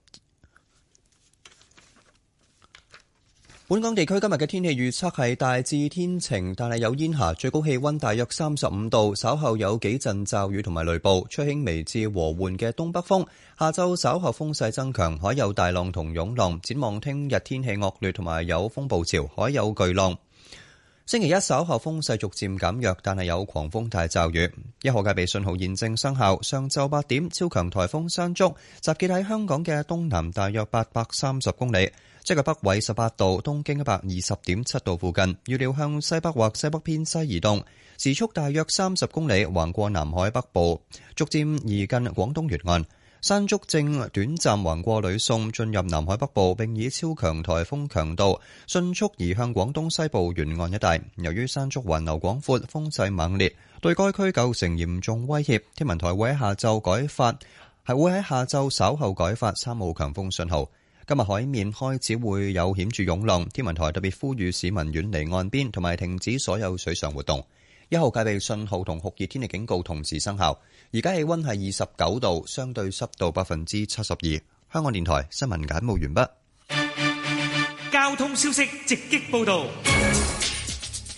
S2: 本港地區今日嘅天氣預測係大致天晴，但係有煙霞，最高氣溫大約35度，稍後有幾陣驟雨同埋雷暴，吹輕微至和緩嘅東北風。下晝稍後風勢增強，海有大浪同湧浪。展望聽日天氣惡劣同埋有風暴潮，海有巨浪。星期一稍後風勢逐漸減弱，但係有狂風大驟雨。1號戒備信號現正生效。上晝8點，超強颱風山竹集結喺香港嘅東南大約830公里，即係北緯18度、東經120.7度附近。預料向西北或西北偏西移動，時速大約30公里，橫過南海北部，逐漸移近廣東沿岸。山竹正短暫橫過呂宋，進入南海北部，並以超強颱風強度迅速移向廣東西部沿岸一帶。由於山竹環流廣闊，風勢猛烈，對該區構成嚴重威脅。天文台會喺下晝稍後改發3號強風信號。今日海面開始會有顯著湧浪，天文台特別呼籲市民遠離岸邊，同埋停止所有水上活動。1號戒備信號同酷熱天氣警告同時生效。而家氣溫係29度，相對濕度72%。香港電台新聞簡報完畢。
S1: 交通消息直擊報道。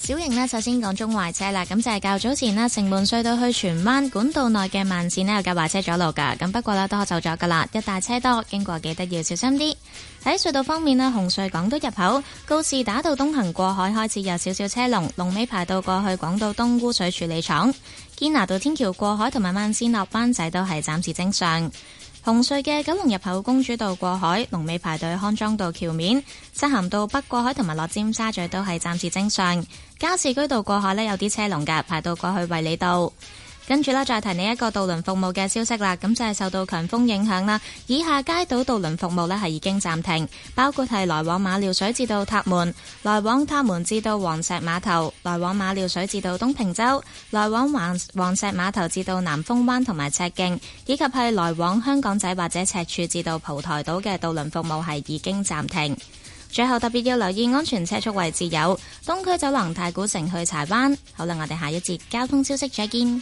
S3: 小型呢，首先講中壞車啦，咁就係較早前呢，城門隧道去荃灣管道內嘅慢線呢，有架壞車阻路㗎，咁不過呢，都可就咗㗎啦，一大車多，經過記得要小心啲。喺隧道方面呢，紅隧港島入口告士打道東行過海開始有少少車龍，龍尾排到過去港島東污水處理廠。堅拿道天橋過海同埋慢線落灣仔都係暫時正常。紅隧嘅九龍入口公主道過海，龍尾排隊康莊道橋面；漆咸道北過海同埋落尖沙咀都係暫時正常。加士居道過海呢，有啲車龍㗎，排到過去衛理道。跟住啦，再提你一個渡輪服務嘅消息啦，咁就係受到強風影響啦，以下街島渡輪服務呢係已經暫停，包括係來往馬料水至到塔門，來往塔門至到黃石碼頭，來往馬料水至到東平洲，來往黃石碼頭至到南風灣同埋赤徑，以及係來往香港仔或者赤柱至到蒲台島嘅渡輪服務係已經暫停。最後特別要留意安全車速位置有東區走廊太古城去柴灣。好啦，我哋下一節交通消息再見。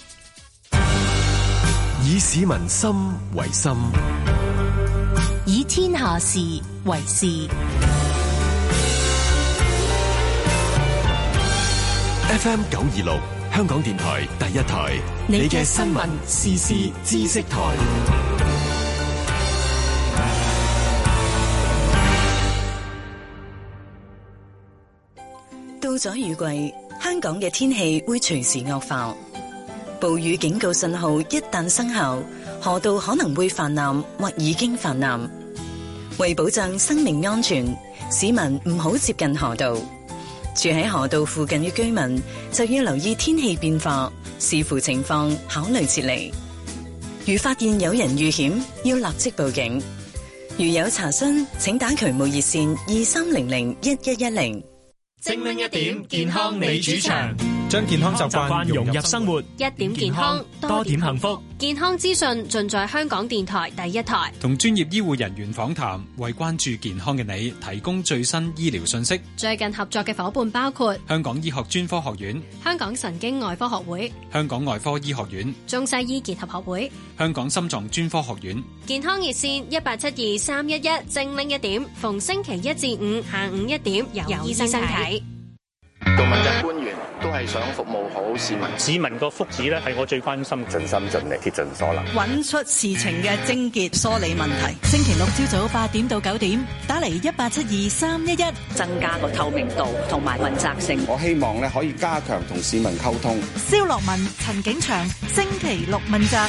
S4: 以市民心為心，
S12: 以天下事為事。
S4: FM 926，香港電台第一台，你嘅新聞時事知識台。
S19: 到咗雨季，香港嘅天氣會隨時惡化。暴雨警告信號一旦生效，河道可能會泛濫或已經泛濫。為保障生命安全，市民唔好接近河道。住喺河道附近嘅居民就要留意天氣變化，視乎情況考慮撤離。如發現有人遇險，要立即報警。如有查詢，請打渠務熱線23001110。
S1: 精靈一點，健康你主場，
S20: 將健康習慣融入生活，
S5: 一點健康，
S20: 多點幸福。
S5: 健康資訊盡在香港電台第一台。
S20: 同專業醫護人員訪談，為關注健康嘅你提供最新醫療信息。
S5: 最近合作嘅夥伴包括
S20: 香港醫學專科學院、
S5: 香港神經外科學會、
S20: 香港外科醫學院、
S5: 中西醫結合學會、
S20: 香港心臟專科學院。
S5: 健康熱線1872-311，精靈一點，逢星期一至五下午1點由醫生睇。
S10: 做問責官員都係想服務好市民，
S11: 市民個福祉咧係我最關心，
S10: 盡心盡力，竭盡所能，
S12: 揾出事情嘅症結，梳理問題。星期六朝早8點到9點，打嚟1872-311，
S9: 增加個透明度同埋問責性。
S13: 我希望咧可以加強同市民溝通。
S12: 蕭樂文、陳景祥，星期六問責。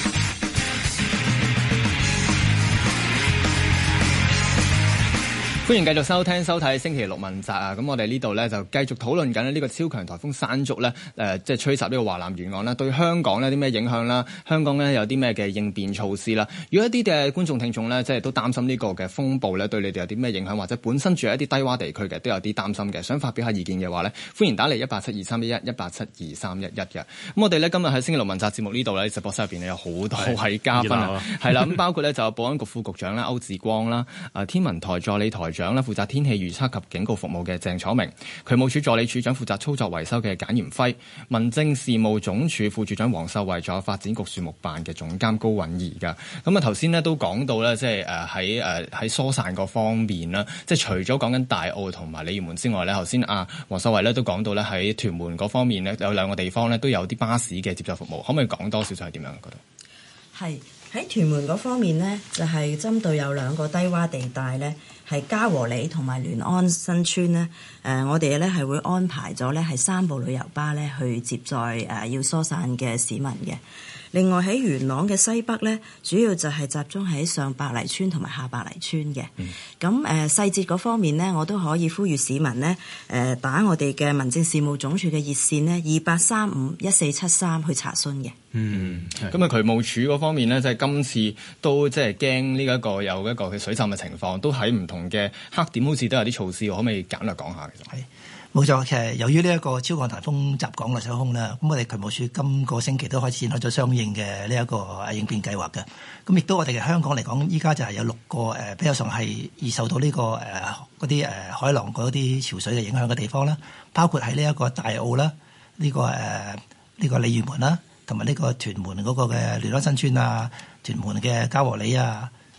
S14: 歡迎繼續收聽收睇星期六問責啊！咁我哋呢度咧就繼續討論緊呢個超強颱風山竹咧，即係吹襲呢個華南沿岸啦，對香港呢啲咩影響啦？香港咧有啲咩嘅應變措施啦？如果一啲嘅觀眾聽眾咧，即係都擔心呢個嘅風暴咧對你哋有啲咩影響，或者本身住喺一啲低窪地區嘅都有啲擔心嘅，想發表下意見嘅話咧，歡迎打嚟1872-311 1872-311嘅。咁我哋咧今日喺星期六問責節目呢度咧，直播室入邊有好多位嘉賓啊，係啦，咁包括咧就有保安局副局長啦歐志光啦，天文台助理台長啦，負責天氣預測及警告服務嘅鄭楚明，渠務署助理署長負責操作維修嘅簡炎輝，民政事務總署副署長黃秀慧，仲有發展局樹木辦嘅總監高允怡噶。咁啊頭先咧都講到咧，即係喺疏散嗰方面啦，即係除咗講緊大澳同埋鯉魚門之外咧，頭先黃秀慧咧都講到咧喺屯門嗰方面咧有兩個地方咧都有啲巴士嘅接載服務，可唔可以講多少少係點樣嗰度？
S18: 係喺屯門嗰方面呢，就係針對有兩個低窪地帶呢，係嘉和里同埋聯安新村呢。我哋呢係會安排咗呢係3部旅遊巴呢去接載要疏散嘅市民嘅。另外喺元朗嘅西北呢，主要就係集中喺上白泥村同埋下白泥村嘅。咁細節嗰方面呢，我都可以呼籲市民呢打我哋嘅民政事務總署嘅熱線呢28351473去查詢嘅。
S14: 咁啊渠務署嗰方面呢，即係今次都即係驚呢一個有一個嘅水浸嘅情況，都喺唔同嘅黑點好似都有啲措施，可唔可以簡略講下？其實係
S21: 冇錯，其實由於呢一個超強颱風襲港嘅上空啦，咁我哋渠務署今個星期都開始展開咗相應嘅呢一個應變計劃嘅。咁亦都我哋嘅香港嚟講，依家就係有6個比較上係易受到呢個嗰啲海浪嗰啲潮水嘅影響嘅地方啦，包括喺呢一個大澳啦，呢個鯉魚門啦，同埋呢個屯門嗰個嘅聯安新村啊，屯門嘅嘉和里啊，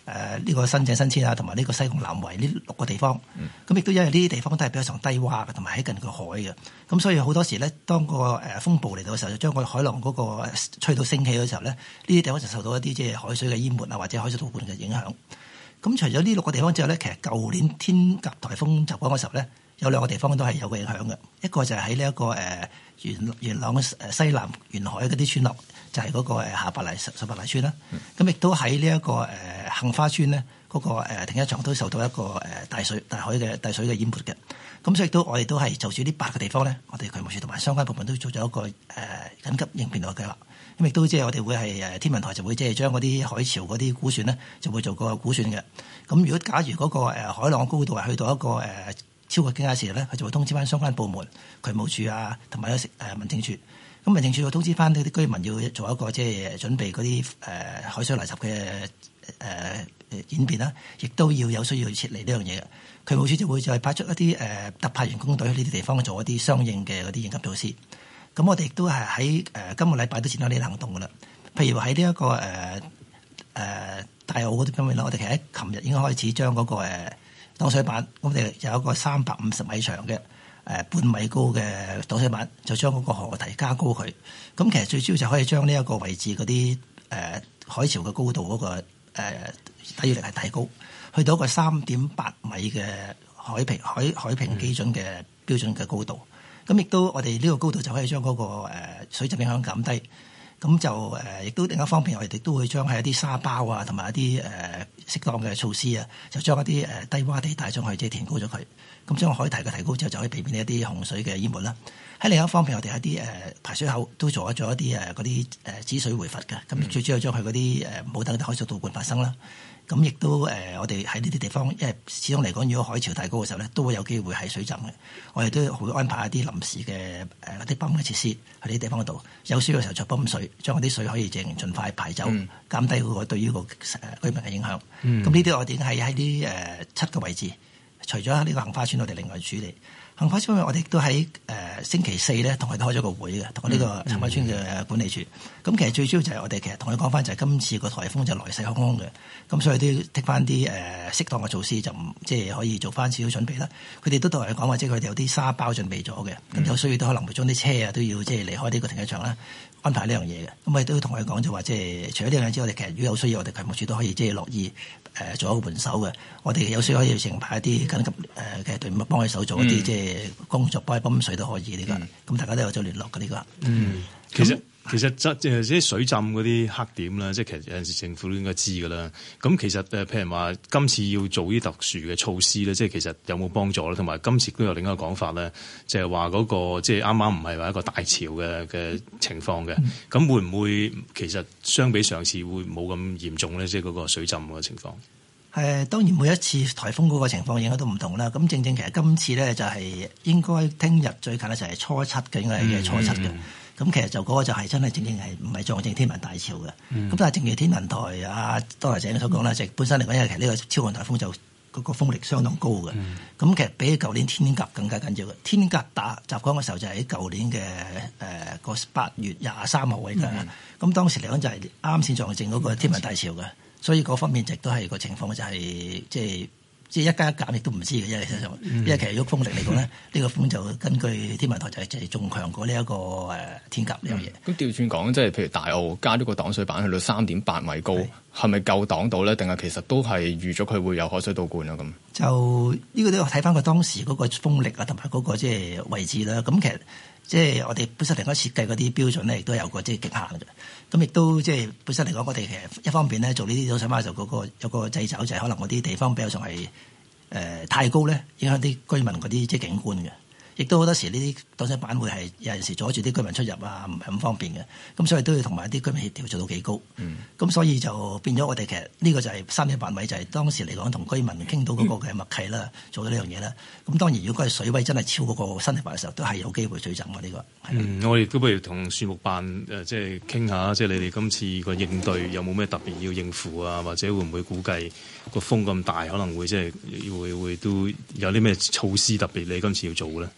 S21: 呢個新井新村啊，同埋呢個西貢南圍呢6個地方。咁亦都因為呢啲地方都係比較上低洼嘅，同埋喺近個海嘅。咁所以好多時咧，當個風暴嚟到嘅時候，就將個海浪嗰個吹到升起嘅時候咧，呢啲地方就受到一啲即係海水嘅淹沒啊，或者海水倒灌嘅影響。咁除咗呢6個地方之後咧，其實舊年天鴿颱風襲港嘅時候咧，有2個地方都係有個影響嘅。一個就係喺呢一個元朗西南沿海嗰啲村落，就係嗰個下白泥十八泥村啦。咁亦都喺呢一個杏花村咧，嗰個停車場都受到一個大水嘅淹沒嘅。咁所以我哋都係就住呢8個地方咧，我哋渠務署同埋相關部門都做咗一個緊急應變嘅計劃。咁亦都即係我哋會係天文台就會即係將嗰啲海潮嗰啲估算咧，就會做個估算嘅。咁如果假如嗰個海浪高度係去到一個超過警戒時咧，佢就會通知翻相關部門、渠務署啊，同埋民政處。咁民政處會通知翻呢啲居民要做一個即係準備嗰啲海水嚟襲嘅演變啦，亦都要有需要撤離呢樣嘢嘅。渠務署就會再派出一啲特派員工隊去呢啲地方做一啲相應嘅嗰啲應急措施。咁我哋亦都係喺今個禮拜都展開呢啲行動噶啦。譬如喺呢一個大澳嗰啲方面啦，我哋其實喺琴日已經開始將嗰個擋水板，我哋有一個350米長嘅半米高嘅擋水板，就將嗰個河堤加高佢。咁其實最主要就可以將呢一個位置嗰啲海潮嘅高度嗰個抵禦力係提高，去到一個3.8米嘅海平基準嘅標準嘅高度。咁亦都我哋呢個高度就可以將嗰個水浸影響減低。咁就亦都另一方面，我哋亦都會將係一啲沙包啊，同埋一啲適當嘅措施啊，就將一啲低洼地帶上去，即係填高咗佢。咁將海堤嘅提高之後，就可以避免一啲洪水嘅淹沒啦。喺另一方面，我哋喺啲排水口都做咗一啲嗰啲止水回閥嘅。咁最主要將佢嗰啲冇等海水倒灌發生啦。咁亦都我哋喺呢啲地方，因為始終嚟講，如果海潮太高嘅時候咧，都會有機會係水浸嘅。我哋都會安排一啲臨時嘅嗰啲泵嘅設施喺呢啲地方嗰度，有需要嘅時候再泵水，將嗰啲水可以盡快排走，減低嗰個對於個居民嘅影響。咁呢啲我哋係喺啲7個位置，除咗呢個杏花村，我哋另外處理。杏花村我哋都喺星期4咧，同佢開咗個會嘅，同呢個杏花村嘅管理處。咁其實最主要就係我哋其實同佢講翻，就係今次個颱風就來勢洶洶嘅，咁所以都要剔翻啲適當嘅措施，就唔即係可以做翻少少準備啦。佢哋都同我哋講話，即係佢哋有啲沙包準備咗嘅，咁有需要都可能會將啲車啊都要即係離開呢個停車場啦，安排呢樣嘢嘅。咁我哋都同佢講就話，即係除咗呢樣嘢之外，我哋其實如果有需要，我哋渠務署都可以即係樂意做一個援手嘅。我哋有需要可以成派一啲緊急嘅隊伍幫佢手做一啲即係工作，幫佢泵水都可以呢個。咁大家都有咗聯絡嘅呢個。
S15: 其實即係水浸嗰啲黑點啦，即係其實有陣時政府都應該知㗎啦。咁其實譬如話今次要做啲特殊嘅措施咧，即係其實有冇幫助咧？同埋今次都有另一個講法咧，就係話嗰個即係啱啱唔係話一個大潮嘅情況嘅。咁會唔會其實相比上次會冇咁嚴重咧？即係嗰個水浸嘅情況。
S21: 當然每一次颱風嗰個情況應該都唔同啦。咁正其實今次咧就係應該聽日最近咧就係初7嘅，應該係初7嘅。咁其實就嗰個就係真係正係唔係撞正天文大潮嘅。咁但係正如天文台多謝井所講啦，就本身嚟講，因為其實呢個超強颱風就嗰個風力相當高嘅。咁其實比起舊年天鴿更加緊要嘅。天鴿襲港嘅時候就係喺舊年嘅個8月23號嘅。咁當時嚟講就係啱先撞正嗰個天文大潮嘅。所以嗰方面亦都係個情況就係即係一加一減亦都唔知嘅，因為其實如果風力嚟講咧，呢個風就根據天文台就係仲強過呢一個天鴿呢樣嘢。咁
S14: 調轉講，即係譬如大澳加咗個擋水板去到3.8米高，係咪夠擋到咧？定係其實都係預咗佢會有海水倒灌啊？咁
S21: 就呢個都要睇翻佢當時嗰個風力啊，同埋嗰個即係位置啦。咁其實即係我哋本身嚟講設計嗰啲標準咧，亦都有個即係極限嘅。咁亦都即係本身嚟講，我哋其實一方面咧做呢啲擋水板嘅時候，有個掣肘，就係可能嗰啲地方比較上係太高咧，影響啲居民嗰啲即係景觀嘅。亦都好多時呢啲擋水板會係有陣時阻住啲居民出入啊，唔係咁方便嘅。咁所以都要同埋啲居民協調做到幾高。咁所以就變咗我哋其實呢個就係3.8米，就係當時嚟講同居民傾到嗰個嘅默契啦，做咗呢樣嘢啦。咁當然如果係水位真係超過個身體範嘅時候，都係有機會水浸嘅呢個。
S15: 我哋都不如同樹木辦即係傾下，即係你哋今次個應對有冇咩特別要應付啊？或者會唔會估計個風咁大，可能會即係會都有啲咩措施特別你今次要做咧？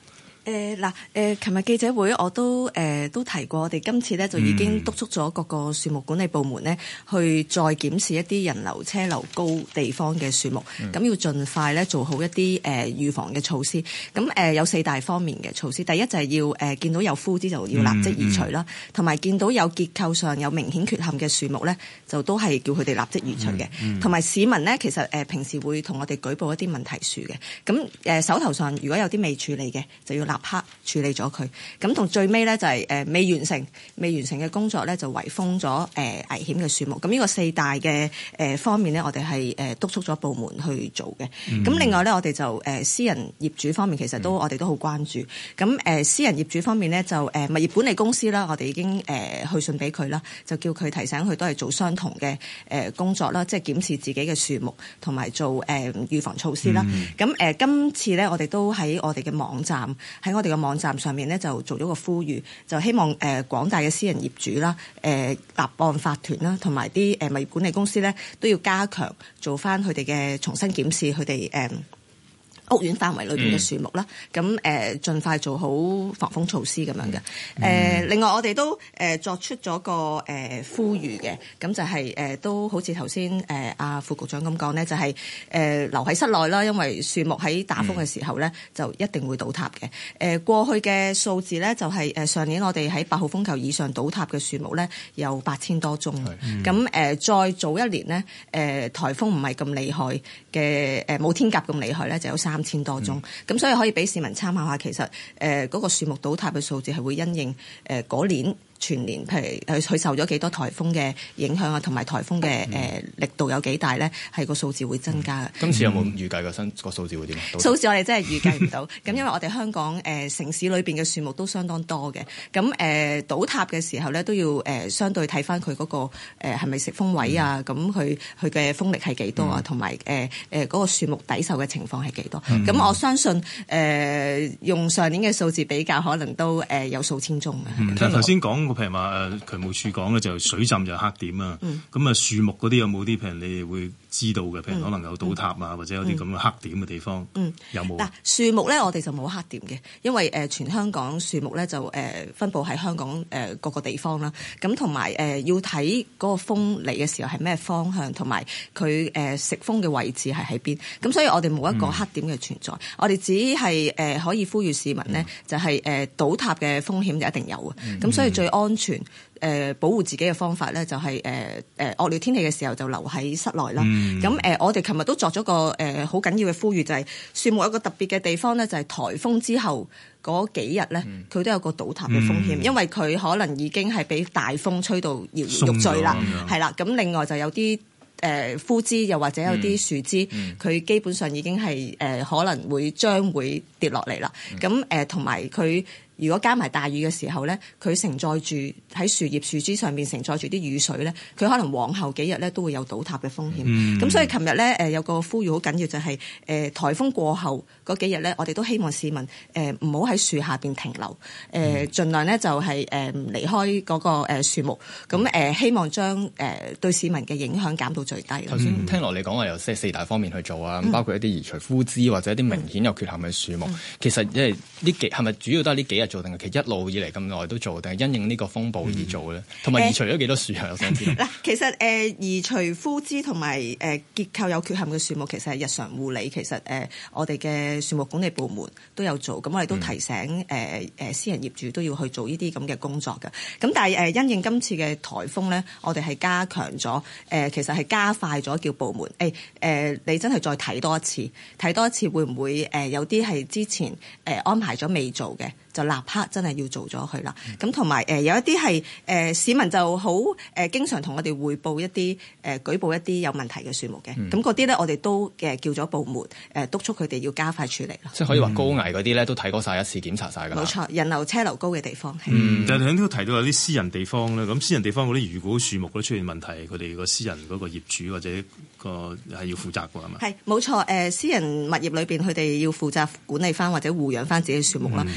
S18: 琴日記者會我都提過，我哋今次咧就已經督促咗各個樹木管理部門咧，去再檢視一啲人流車流高地方嘅樹木，咁要盡快咧做好一啲預防嘅措施。咁有4大方面嘅措施，第一就係要見到有枯枝就要立即移除啦，同埋見到有結構上有明顯缺陷嘅樹木咧，就都係叫佢哋立即移除嘅。同埋市民咧，其實平時會同我哋舉報一啲問題樹嘅，咁手頭上如果有啲未處理嘅，就要立刻處理咗佢。咁同最尾咧就係未完成嘅工作咧，就圍封咗危險嘅樹木。咁呢個4大嘅方面咧，我哋係督促咗部門去做嘅。咁另外咧，我哋就私人業主方面，其實我哋都好關注。咁私人業主方面咧，就物業管理公司啦，我哋已經去信俾佢啦，就叫佢提醒佢都係做相同嘅工作啦，即係檢視自己嘅樹木同埋做預防措施啦。咁今次咧，我哋都喺我哋嘅網站上面咧，就做咗個呼籲，就希望廣大嘅私人業主啦、立案法團啦，同埋啲物業管理公司咧，都要加強做翻佢哋嘅重新檢視佢哋屋苑範圍裏邊嘅樹木啦，咁盡快做好防風措施咁樣嘅。另外我哋都作出咗個呼籲嘅，咁就係都好似頭先阿副局長咁講咧，就係留喺室內啦，因為樹木喺打風嘅時候咧，就一定會倒塌嘅。過去嘅數字咧，就係上年我哋喺8號風球以上倒塌嘅樹木咧，有8000多宗。咁再早一年呢，颱風唔係咁厲害嘅，冇天鴿咁厲害咧，就有3000多宗。咁所以可以俾市民參考下，其實嗰個樹木倒塌嘅數字係會因應嗰年全年，譬如佢受咗幾多颱風嘅影響啊，同埋颱風嘅力度有幾大咧，係個數字會增加嘅。
S14: 今次有冇預計個數字會點？
S18: 數字我哋真係預計唔到。咁因為我哋香港城市裏邊嘅樹木都相當多嘅，咁倒塌嘅時候咧都要相對睇翻佢嗰個係咪食風位啊，咁佢嘅風力係幾多啊，同埋嗰個樹木抵受嘅情況係幾多。咁我相信用上年嘅數字比較，可能都有數千宗嘅。
S15: 但係頭先講。譬如話渠務署講咧，就水浸就黑點啊。咁樹木嗰啲有冇啲譬如你哋會知道嘅？譬如可能有倒塌啊，或者有啲咁嘅黑點嘅地方，有冇？嗱，
S18: 樹木咧，我哋就冇黑點嘅，因為全香港樹木咧就分佈喺香港各個地方啦。咁同埋要睇嗰個風嚟嘅時候係咩方向，同埋佢食風嘅位置係喺邊。咁所以我哋冇一個黑點嘅存在。我哋只係可以呼籲市民呢，就係倒塌嘅風險就一定有嘅。咁所以最安全保護自己嘅方法咧，就係惡劣天氣嘅時候就留喺室內啦。咁我哋琴日都作咗個好緊要嘅呼籲，就係樹木有個特別嘅地方咧，就係颱風之後嗰幾日咧，佢都有個倒塌嘅風險，因為佢可能已經係俾大風吹到搖搖欲墜啦，係啦。咁另外就有啲枯枝，又或者有啲樹枝，佢基本上已經係可能將會跌落嚟啦。咁同埋佢。如果加埋大雨嘅時候咧，佢承載住喺樹葉樹枝上面承載住啲雨水咧，佢可能往後幾日咧都會有倒塌嘅風險。咁所以琴日咧有個呼籲好緊要，就係颱風過後嗰幾日咧，我哋都希望市民唔好喺樹下邊停留，盡量咧就係離開嗰個樹木。咁希望將對市民嘅影響減到最低。
S14: 頭先聽落你講話有4大方面去做啊，包括一啲移除枯枝或者一啲明顯有缺陷嘅樹木。其實因為係咪主要都係呢幾日做，定係其實一路以嚟咁耐都做，定係因應呢個風暴而做咧？同埋移除咗幾多樹啊？我想知。嗱，
S18: 其實移除枯枝同埋結構有缺陷嘅樹木，其實係日常護理。其實我哋嘅樹木管理部門都有做，咁我哋都提醒私人業主都要去做呢啲咁嘅工作嘅。咁但係因應今次嘅颱風咧，我哋係加強咗其實係加快咗叫部門你真係再睇多一次會唔會有啲係之前安排咗未做嘅？就立刻真係要做咗佢啦。咁同埋有一啲係市民就好經常同我哋匯報一啲舉報一啲有問題嘅樹木嘅。咁嗰啲咧，我哋都叫咗部門督促佢哋要加快處理啦。
S14: 即係可以話高危嗰啲咧，都睇過晒一次，檢查晒㗎。
S18: 冇錯，人流車流高嘅地方。
S15: 但係喺呢度提到有啲私人地方咧，咁私人地方嗰啲如果樹木都出現問題，佢哋個私人嗰個業主或者個係要負責㗎係嘛？
S18: 係冇錯，私人物業裏邊佢哋要負責管理翻或者護養翻自己嘅樹木啦。咁我哋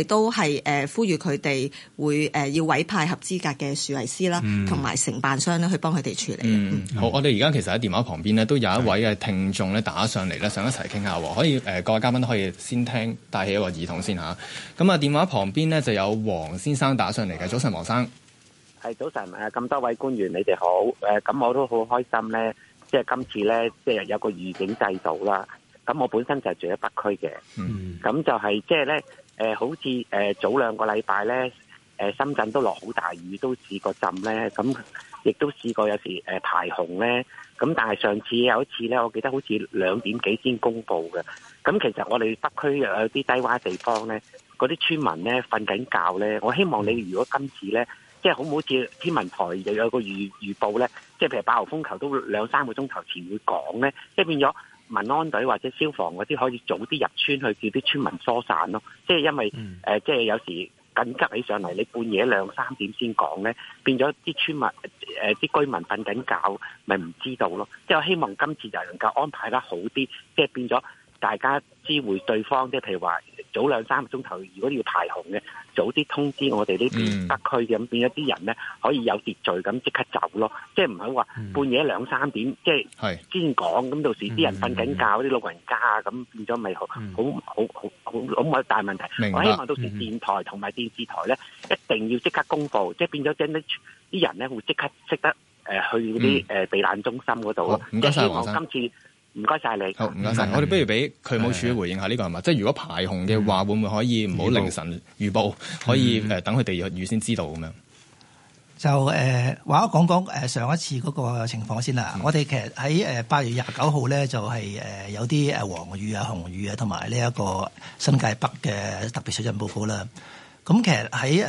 S6: 哋都係呼籲佢哋會要委派合資格嘅樹藝師啦，同埋承辦商咧去幫佢哋處理。
S14: 好，我哋而家其實喺電話旁邊咧都有一位嘅聽眾咧打上嚟咧，想一齊傾下喎。可以各位嘉賓都可以先聽，帶起一個耳筒先嚇。咁啊，電話旁邊咧就有黃先生打上嚟嘅。早晨，黃生。
S22: 係早晨，咁多位官員你哋好。咁我都好開心咧，即係今次咧，即係有個預警制度啦。咁我本身就係住喺北區嘅，咁就係即係咧，好似早2個禮拜咧，深圳都落好大雨，都試過浸咧，咁亦都試過有時排洪咧。咁但係上次有一次咧，我記得好似2點幾先公佈嘅。咁其實我哋北區有啲低窪地方咧，嗰啲村民咧瞓緊覺咧，我希望你如果今次咧，即係好唔好似天文台又有個預報咧，即係譬如8號風球都2-3個鐘頭前會講咧，即係變咗民安隊或者消防嗰啲可以早啲入村去叫啲村民疏散咯。即係因為即係有時緊急起上嚟，你半夜2-3點先講咧，變咗啲村民啲居民瞓緊覺，咪唔知道咯。即係我希望今次就能夠安排得好啲，即係變咗大家知會對方，即係譬如話早2-3個鐘頭，如果要排洪嘅，早啲通知我哋呢邊北區嘅，咁變咗啲人咧可以有秩序咁即刻走咯。即係唔係話半夜2-3點即係先講，咁到時啲人瞓緊覺，啲老人家啊，咁變咗咪好大問題。我希望到時電台同埋電視台咧一定要即刻公佈，即係變咗啲人咧會即刻識得去嗰啲避難中心嗰度咯。
S14: 唔該晒黃生。
S22: 今次唔該晒你。
S14: 好，唔該晒。我哋不如俾渠務署回應下呢個係嘛？即係如果排洪嘅話，會唔會可以唔好凌晨預報，可以等佢哋預先知道咁樣？
S21: 就話講講上一次嗰個情況先啦。我哋其實喺8月29號咧，就係有啲黃雨啊、紅雨啊，同埋呢一個新界北嘅特別水浸報告啦。咁其實喺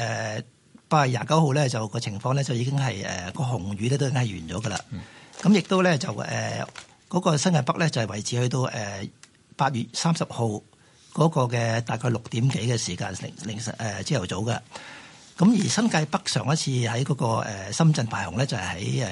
S21: 8月29號咧，就個情況咧就已經係個紅雨咧都已經係完咗噶啦。咁亦都咧就嗰個新界北咧就係維持去到8月30號嗰個嘅大概6點幾嘅時間，凌晨朝頭早嘅。咁而新界北上一次喺嗰個深圳排洪咧，就係喺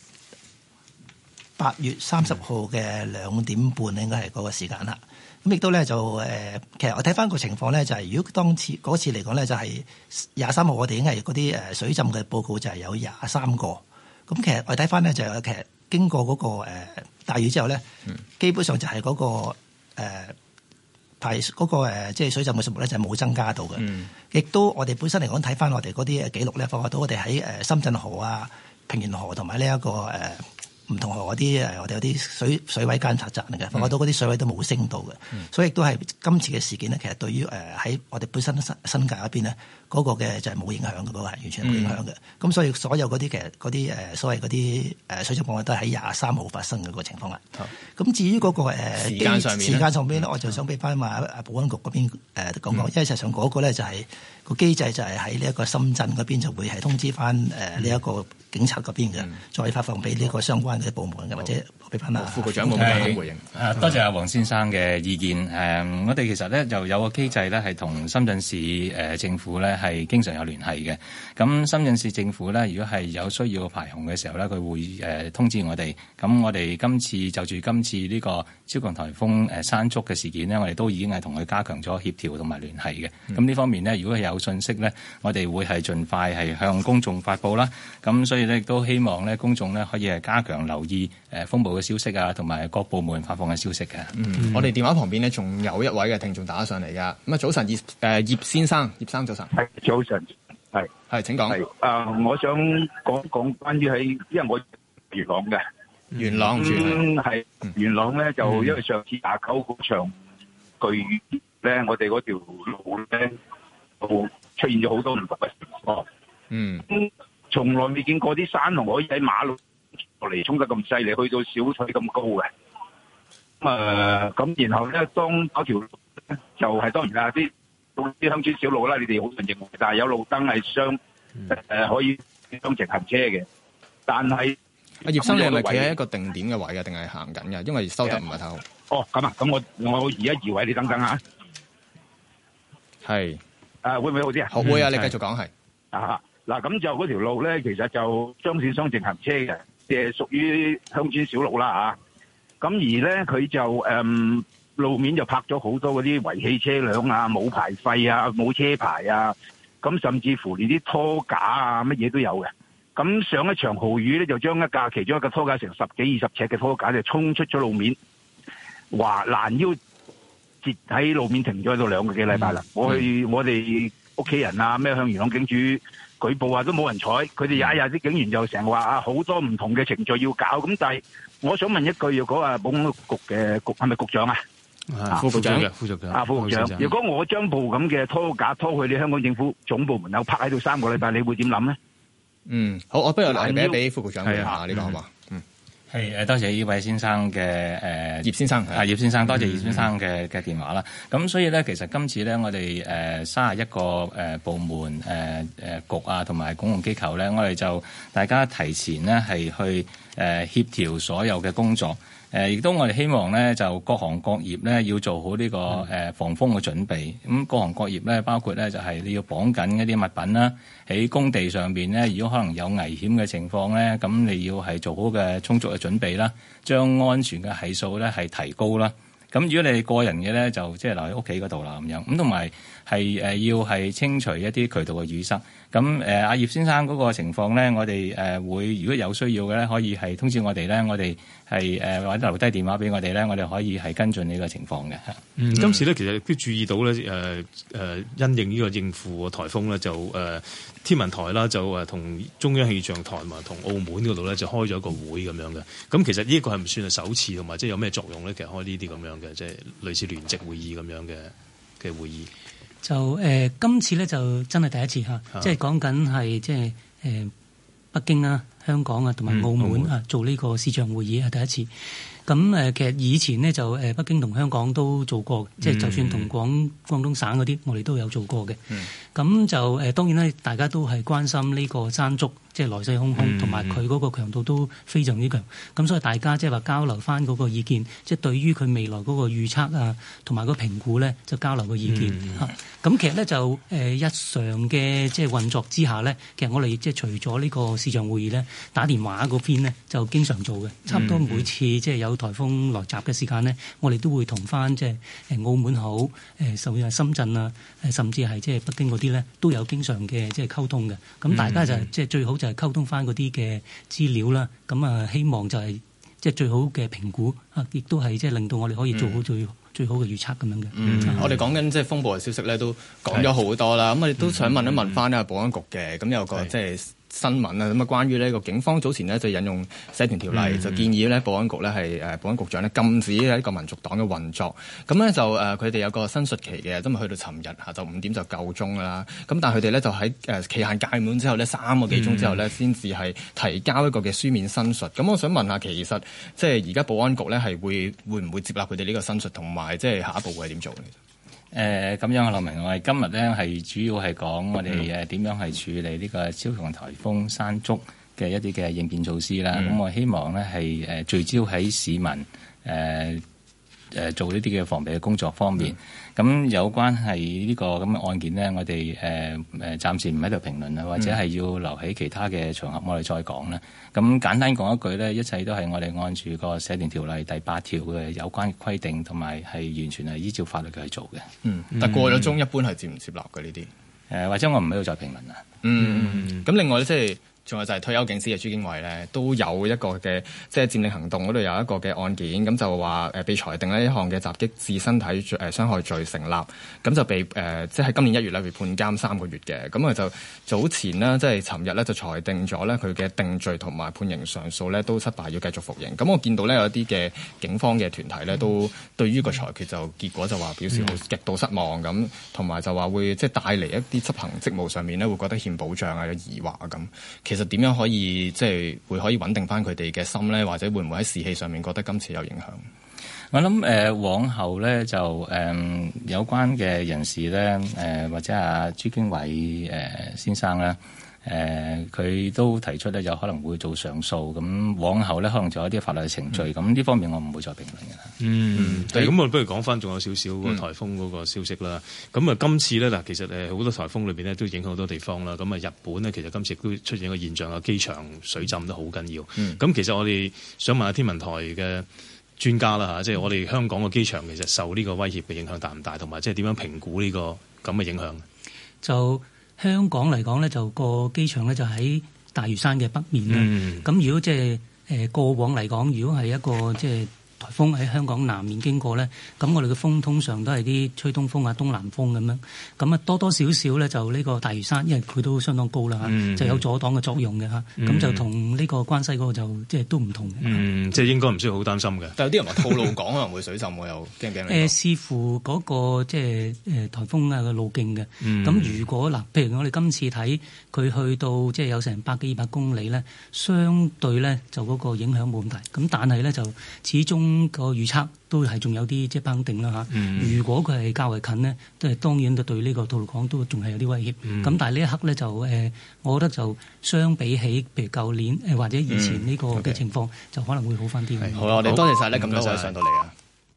S21: 8月30號嘅2點半，應該係嗰個時間啦。咁亦都咧就其實我睇翻個情況咧，就係如果當次嗰次嚟講咧，就係23號我哋已經係嗰啲水浸嘅報告就係有23個。咁其實我睇翻咧就其實經過嗰個大雨之後咧，基本上就係嗰個排嗰個即係水浸嘅數目咧就係冇增加到嘅。亦都我哋本身嚟講睇翻我哋嗰啲記錄咧，發覺到我哋喺深圳河啊、平原河同埋呢一個唔同河嗰啲我哋有啲水位監察站嚟嘅，發覺到嗰啲水位都冇升到嘅。所以亦都係今次嘅事件咧，其實對於喺我哋本身新界嗰邊咧，嗰個嘅就係冇影響嘅，嗰個係完全冇影響嘅。咁所以所有嗰啲其實嗰啲所謂嗰啲水浸個案都係喺23號發生嘅個情況啦。咁至於嗰個時間上邊咧，我就想俾翻話保安局嗰邊講講，因為實際上嗰個咧就係個機制就係喺呢一個深圳嗰邊就會係通知翻呢一個警察嗰邊嘅，再發放俾呢個相關嘅部門嘅，或者俾翻副局長冇咩回應。
S17: 多謝阿黃先生嘅意見。我哋其實咧就有個機制咧係同深圳市政府咧係經常有聯繫嘅。咁深圳市政府咧，如果係有需要排洪嘅時候咧，佢會通知我哋。咁我哋今次就住今次呢個超強颱風山竹嘅事件呢，我哋都已經係同佢加強咗協調同埋聯繫嘅。咁呢方面呢，如果係有信息咧，我哋會係盡快係向公眾發布啦。咁所以咧亦都希望咧公眾咧可以係加強留意風暴嘅消息啊，同埋各部門發放嘅消息嘅。
S14: 我哋電話旁邊呢，仲有一位嘅聽眾打上嚟噶。咁啊，早晨葉先生早晨。
S23: 係早晨，
S14: 係請講。
S23: 我想講關於喺，因為我元朗嘅
S14: 元朗住
S23: 係元朗咧，就因為上次29嗰場巨雨咧，我哋嗰條路咧就出現咗好多唔同嘅情況。從來未見過啲山洪可以喺馬路落嚟衝得咁犀利，去到小腿咁高嘅。咁然後咧，當嗰條就係當然啦，啲鄉村小路啦，你哋好難認為，但係有路燈係可以雙程行車嘅。但係
S14: 阿葉生，你係咪企喺一個定點嘅位嘅，定係行緊嘅？因為收得唔係太好。
S23: 哦，咁啊，咁我移一移位，你等等啊。
S14: 係。
S23: 會唔會好啲啊？
S14: 好會啊，你繼續講係。
S23: 嗱，咁就嗰條路咧，其實就雙線雙程行車嘅，即係屬於鄉村小路啦嚇。咁而咧佢就路面就泊咗好多嗰啲違棄車輛啊、冇牌費啊、冇車牌啊，咁甚至乎連啲拖架啊乜嘢都有嘅。咁上一場豪雨咧，就將其中一個拖架成10幾20尺嘅拖架就衝出咗路面，話攔腰截喺路面停咗喺度2個幾禮拜啦。我哋屋企人啊咩向元朗警署舉報啊，都冇人睬。佢哋日啲警員就成日話啊，好多唔同嘅程序要搞。咁但係我想問一句，如果保安局嘅係咪局長啊？
S15: 副局長。
S23: 副局長，如果我將部咁嘅拖架拖去你香港政府總部門口泊喺度3個禮拜，你會點諗咧？
S14: 好，我不如俾副局長講下呢個好嘛？
S17: 多謝呢位先生嘅
S14: 葉先生
S17: 葉先生，多謝葉先生嘅電話啦。咁所以咧，其實今次咧，我哋31個部門局啊，同埋公共機構咧，我哋就大家提前咧係去協調所有嘅工作。亦都我哋希望咧，就各行各業咧要做好呢個防風嘅準備。咁各行各業咧，包括咧就係你要綁緊一啲物品啦，喺工地上邊咧，如果可能有危險嘅情況咧，咁你要係做好嘅充足嘅準備啦，將安全嘅係數咧係提高啦。咁如果你個人嘅咧，就即係留喺屋企嗰度啦咁樣。咁同埋係要係清除一啲渠道嘅淤塞。咁阿葉先生嗰個情況咧，我哋會如果有需要嘅咧，可以係通知我哋咧，我哋係或者留低電話俾我哋咧，我哋可以係跟進呢個情況嘅。
S15: 今次咧其實都注意到咧，因應呢個應付颱風咧，就天文台啦，就同中央氣象台同埋同澳門嗰度咧，就開咗一個會咁樣嘅。咁其實呢一個係唔算係首次，同埋即係有咩作用咧？其實開呢啲咁樣嘅，即係類似聯席會議咁樣嘅會議。
S7: 就今次咧就真係第一次嚇，即係講緊係即係北京啊、香港啊同埋澳門啊做呢個視像會議係第一次。咁其實以前呢，就北京同香港都做過，即係就算同廣東省嗰啲，我哋都有做過嘅。咁就當然咧，大家都係關心呢個山竹，即係來勢洶洶，同埋佢嗰個強度都非常之強。咁所以大家即係話交流翻嗰個意見，即係對於佢未來嗰個預測啊，同埋個評估咧，就交流個意見嚇。咁其實咧就日常嘅即係運作之下咧，其實我哋即係除咗呢個視像會議咧，打電話嗰邊咧就經常做嘅，差唔多每次即係有颱風來襲嘅時間咧，我哋都會同翻即係澳門好甚至係深圳啊，甚至係即係北京嗰啲咧，都有經常嘅即係溝通嘅。咁大家就即係最好就係溝通翻嗰啲嘅資料啦。咁啊，希望就係即係最好嘅評估啊，亦都係即係令到我哋可以做好最好嘅預測咁樣嘅。
S14: 我哋講緊即係風暴嘅消息咧，都講咗好多啦。咁我哋都想問一問翻呢個保安局嘅，咁有個即係新聞啊，咁啊關於呢個警方早前呢就引用社團條例，就建議呢保安局呢係保安局長呢禁止呢個民族黨嘅運作。咁呢就佢哋有個申述期嘅，咁啊去到尋日下晝5點就夠鐘啦。咁但係佢哋呢就喺期限屆滿之後呢3個幾鐘之後呢先至係提交一個嘅書面申述。咁我想問下，其實即係而家保安局呢係會唔會接納佢哋呢個申述，同埋即係下一步會係點做呢？
S17: 咁樣啊，劉明，我哋今日咧係主要係講我哋點樣係處理呢個超強颱風山竹嘅一啲嘅應變措施啦。咁我希望咧係聚焦喺市民做呢啲嘅防備嘅工作方面。咁有關係呢個咁嘅案件呢，我哋暫時唔喺度評論啦，或者係要留喺其他嘅場合我哋再講啦。咁簡單講一句呢，一切都係我哋按住個社團條例第8條嘅有關嘅規定，同埋係完全係依照法律去做嘅。
S14: 但過咗鐘一般係接唔接納嘅呢啲？
S17: 或者我唔喺度再評論啦。
S14: 咁另外呢，即係。仲有就係退休警司嘅朱經緯咧，都有一個嘅即係佔領行動嗰度有一個嘅案件，咁就話被裁定呢一項嘅襲擊致身體傷害罪成立，咁就被即係喺今年1月咧被判監3個月嘅，咁佢就早前呢，即係尋日咧就裁定咗咧佢嘅定罪同埋判刑上訴咧都失敗，要繼續服刑。咁我見到咧有一啲嘅警方嘅團體咧都對於個裁決就結果就話表示好極度失望咁，同埋就話會即係帶嚟一啲執行職務上面咧會覺得欠保障啊、有疑惑啊咁。其實點樣可以即係會可以穩定翻佢哋嘅心咧？或者會唔會喺士氣上面覺得今次有影響？
S17: 我諗往後咧就有關嘅人士咧或者阿朱經緯先生咧佢都提出咧有可能會做上訴，咁往後咧可能仲有啲法律嘅程序，咁呢方面我唔會再評論嘅。
S15: 咁我不如講翻仲有少少個颱風嗰個消息啦。咁今次咧嗱，其實好多颱風裏邊咧都影響好多地方啦。咁日本咧其實今次都出現一個現象，機場水浸都好緊要。咁其實我哋想問下天文台嘅專家啦嚇，即係我哋香港嘅機場其實受呢個威脅嘅影響大唔大，同埋即係點樣評估呢個咁嘅影響？就香港嚟講咧，就個機場咧就喺大嶼山嘅北面啦。咁如果即係過往嚟講，如果係一個即係颱風喺香港南面經過咧，咁我哋嘅風通常都係啲吹東風啊、東南風咁樣，咁啊多多少少咧就呢個大嶼山，因為佢都相當高啦嚇，就有阻擋嘅作用嘅嚇，咁就同呢個關西嗰個就即係都唔同嘅。即係應該唔需要好擔心嘅。但有啲人話吐露港可能會水浸喎，又驚唔驚？視乎嗰個即係颱風啊嘅路徑嘅。咁如果嗱，譬如我哋今次睇佢去到即係有成100幾200公里咧，相對咧就嗰個影響冇咁大。咁但係咧就始終個預測都係仲有啲即係不肯定啦嚇。如果佢係較為近呢，都係當然對呢個吐露港都仲係有啲威脅。咁但係呢一刻咧就我覺得就相比起譬如舊年或者以前呢個嘅情況，就可能會好翻啲。好啦，我哋多謝晒咧，咁多位上到嚟啊！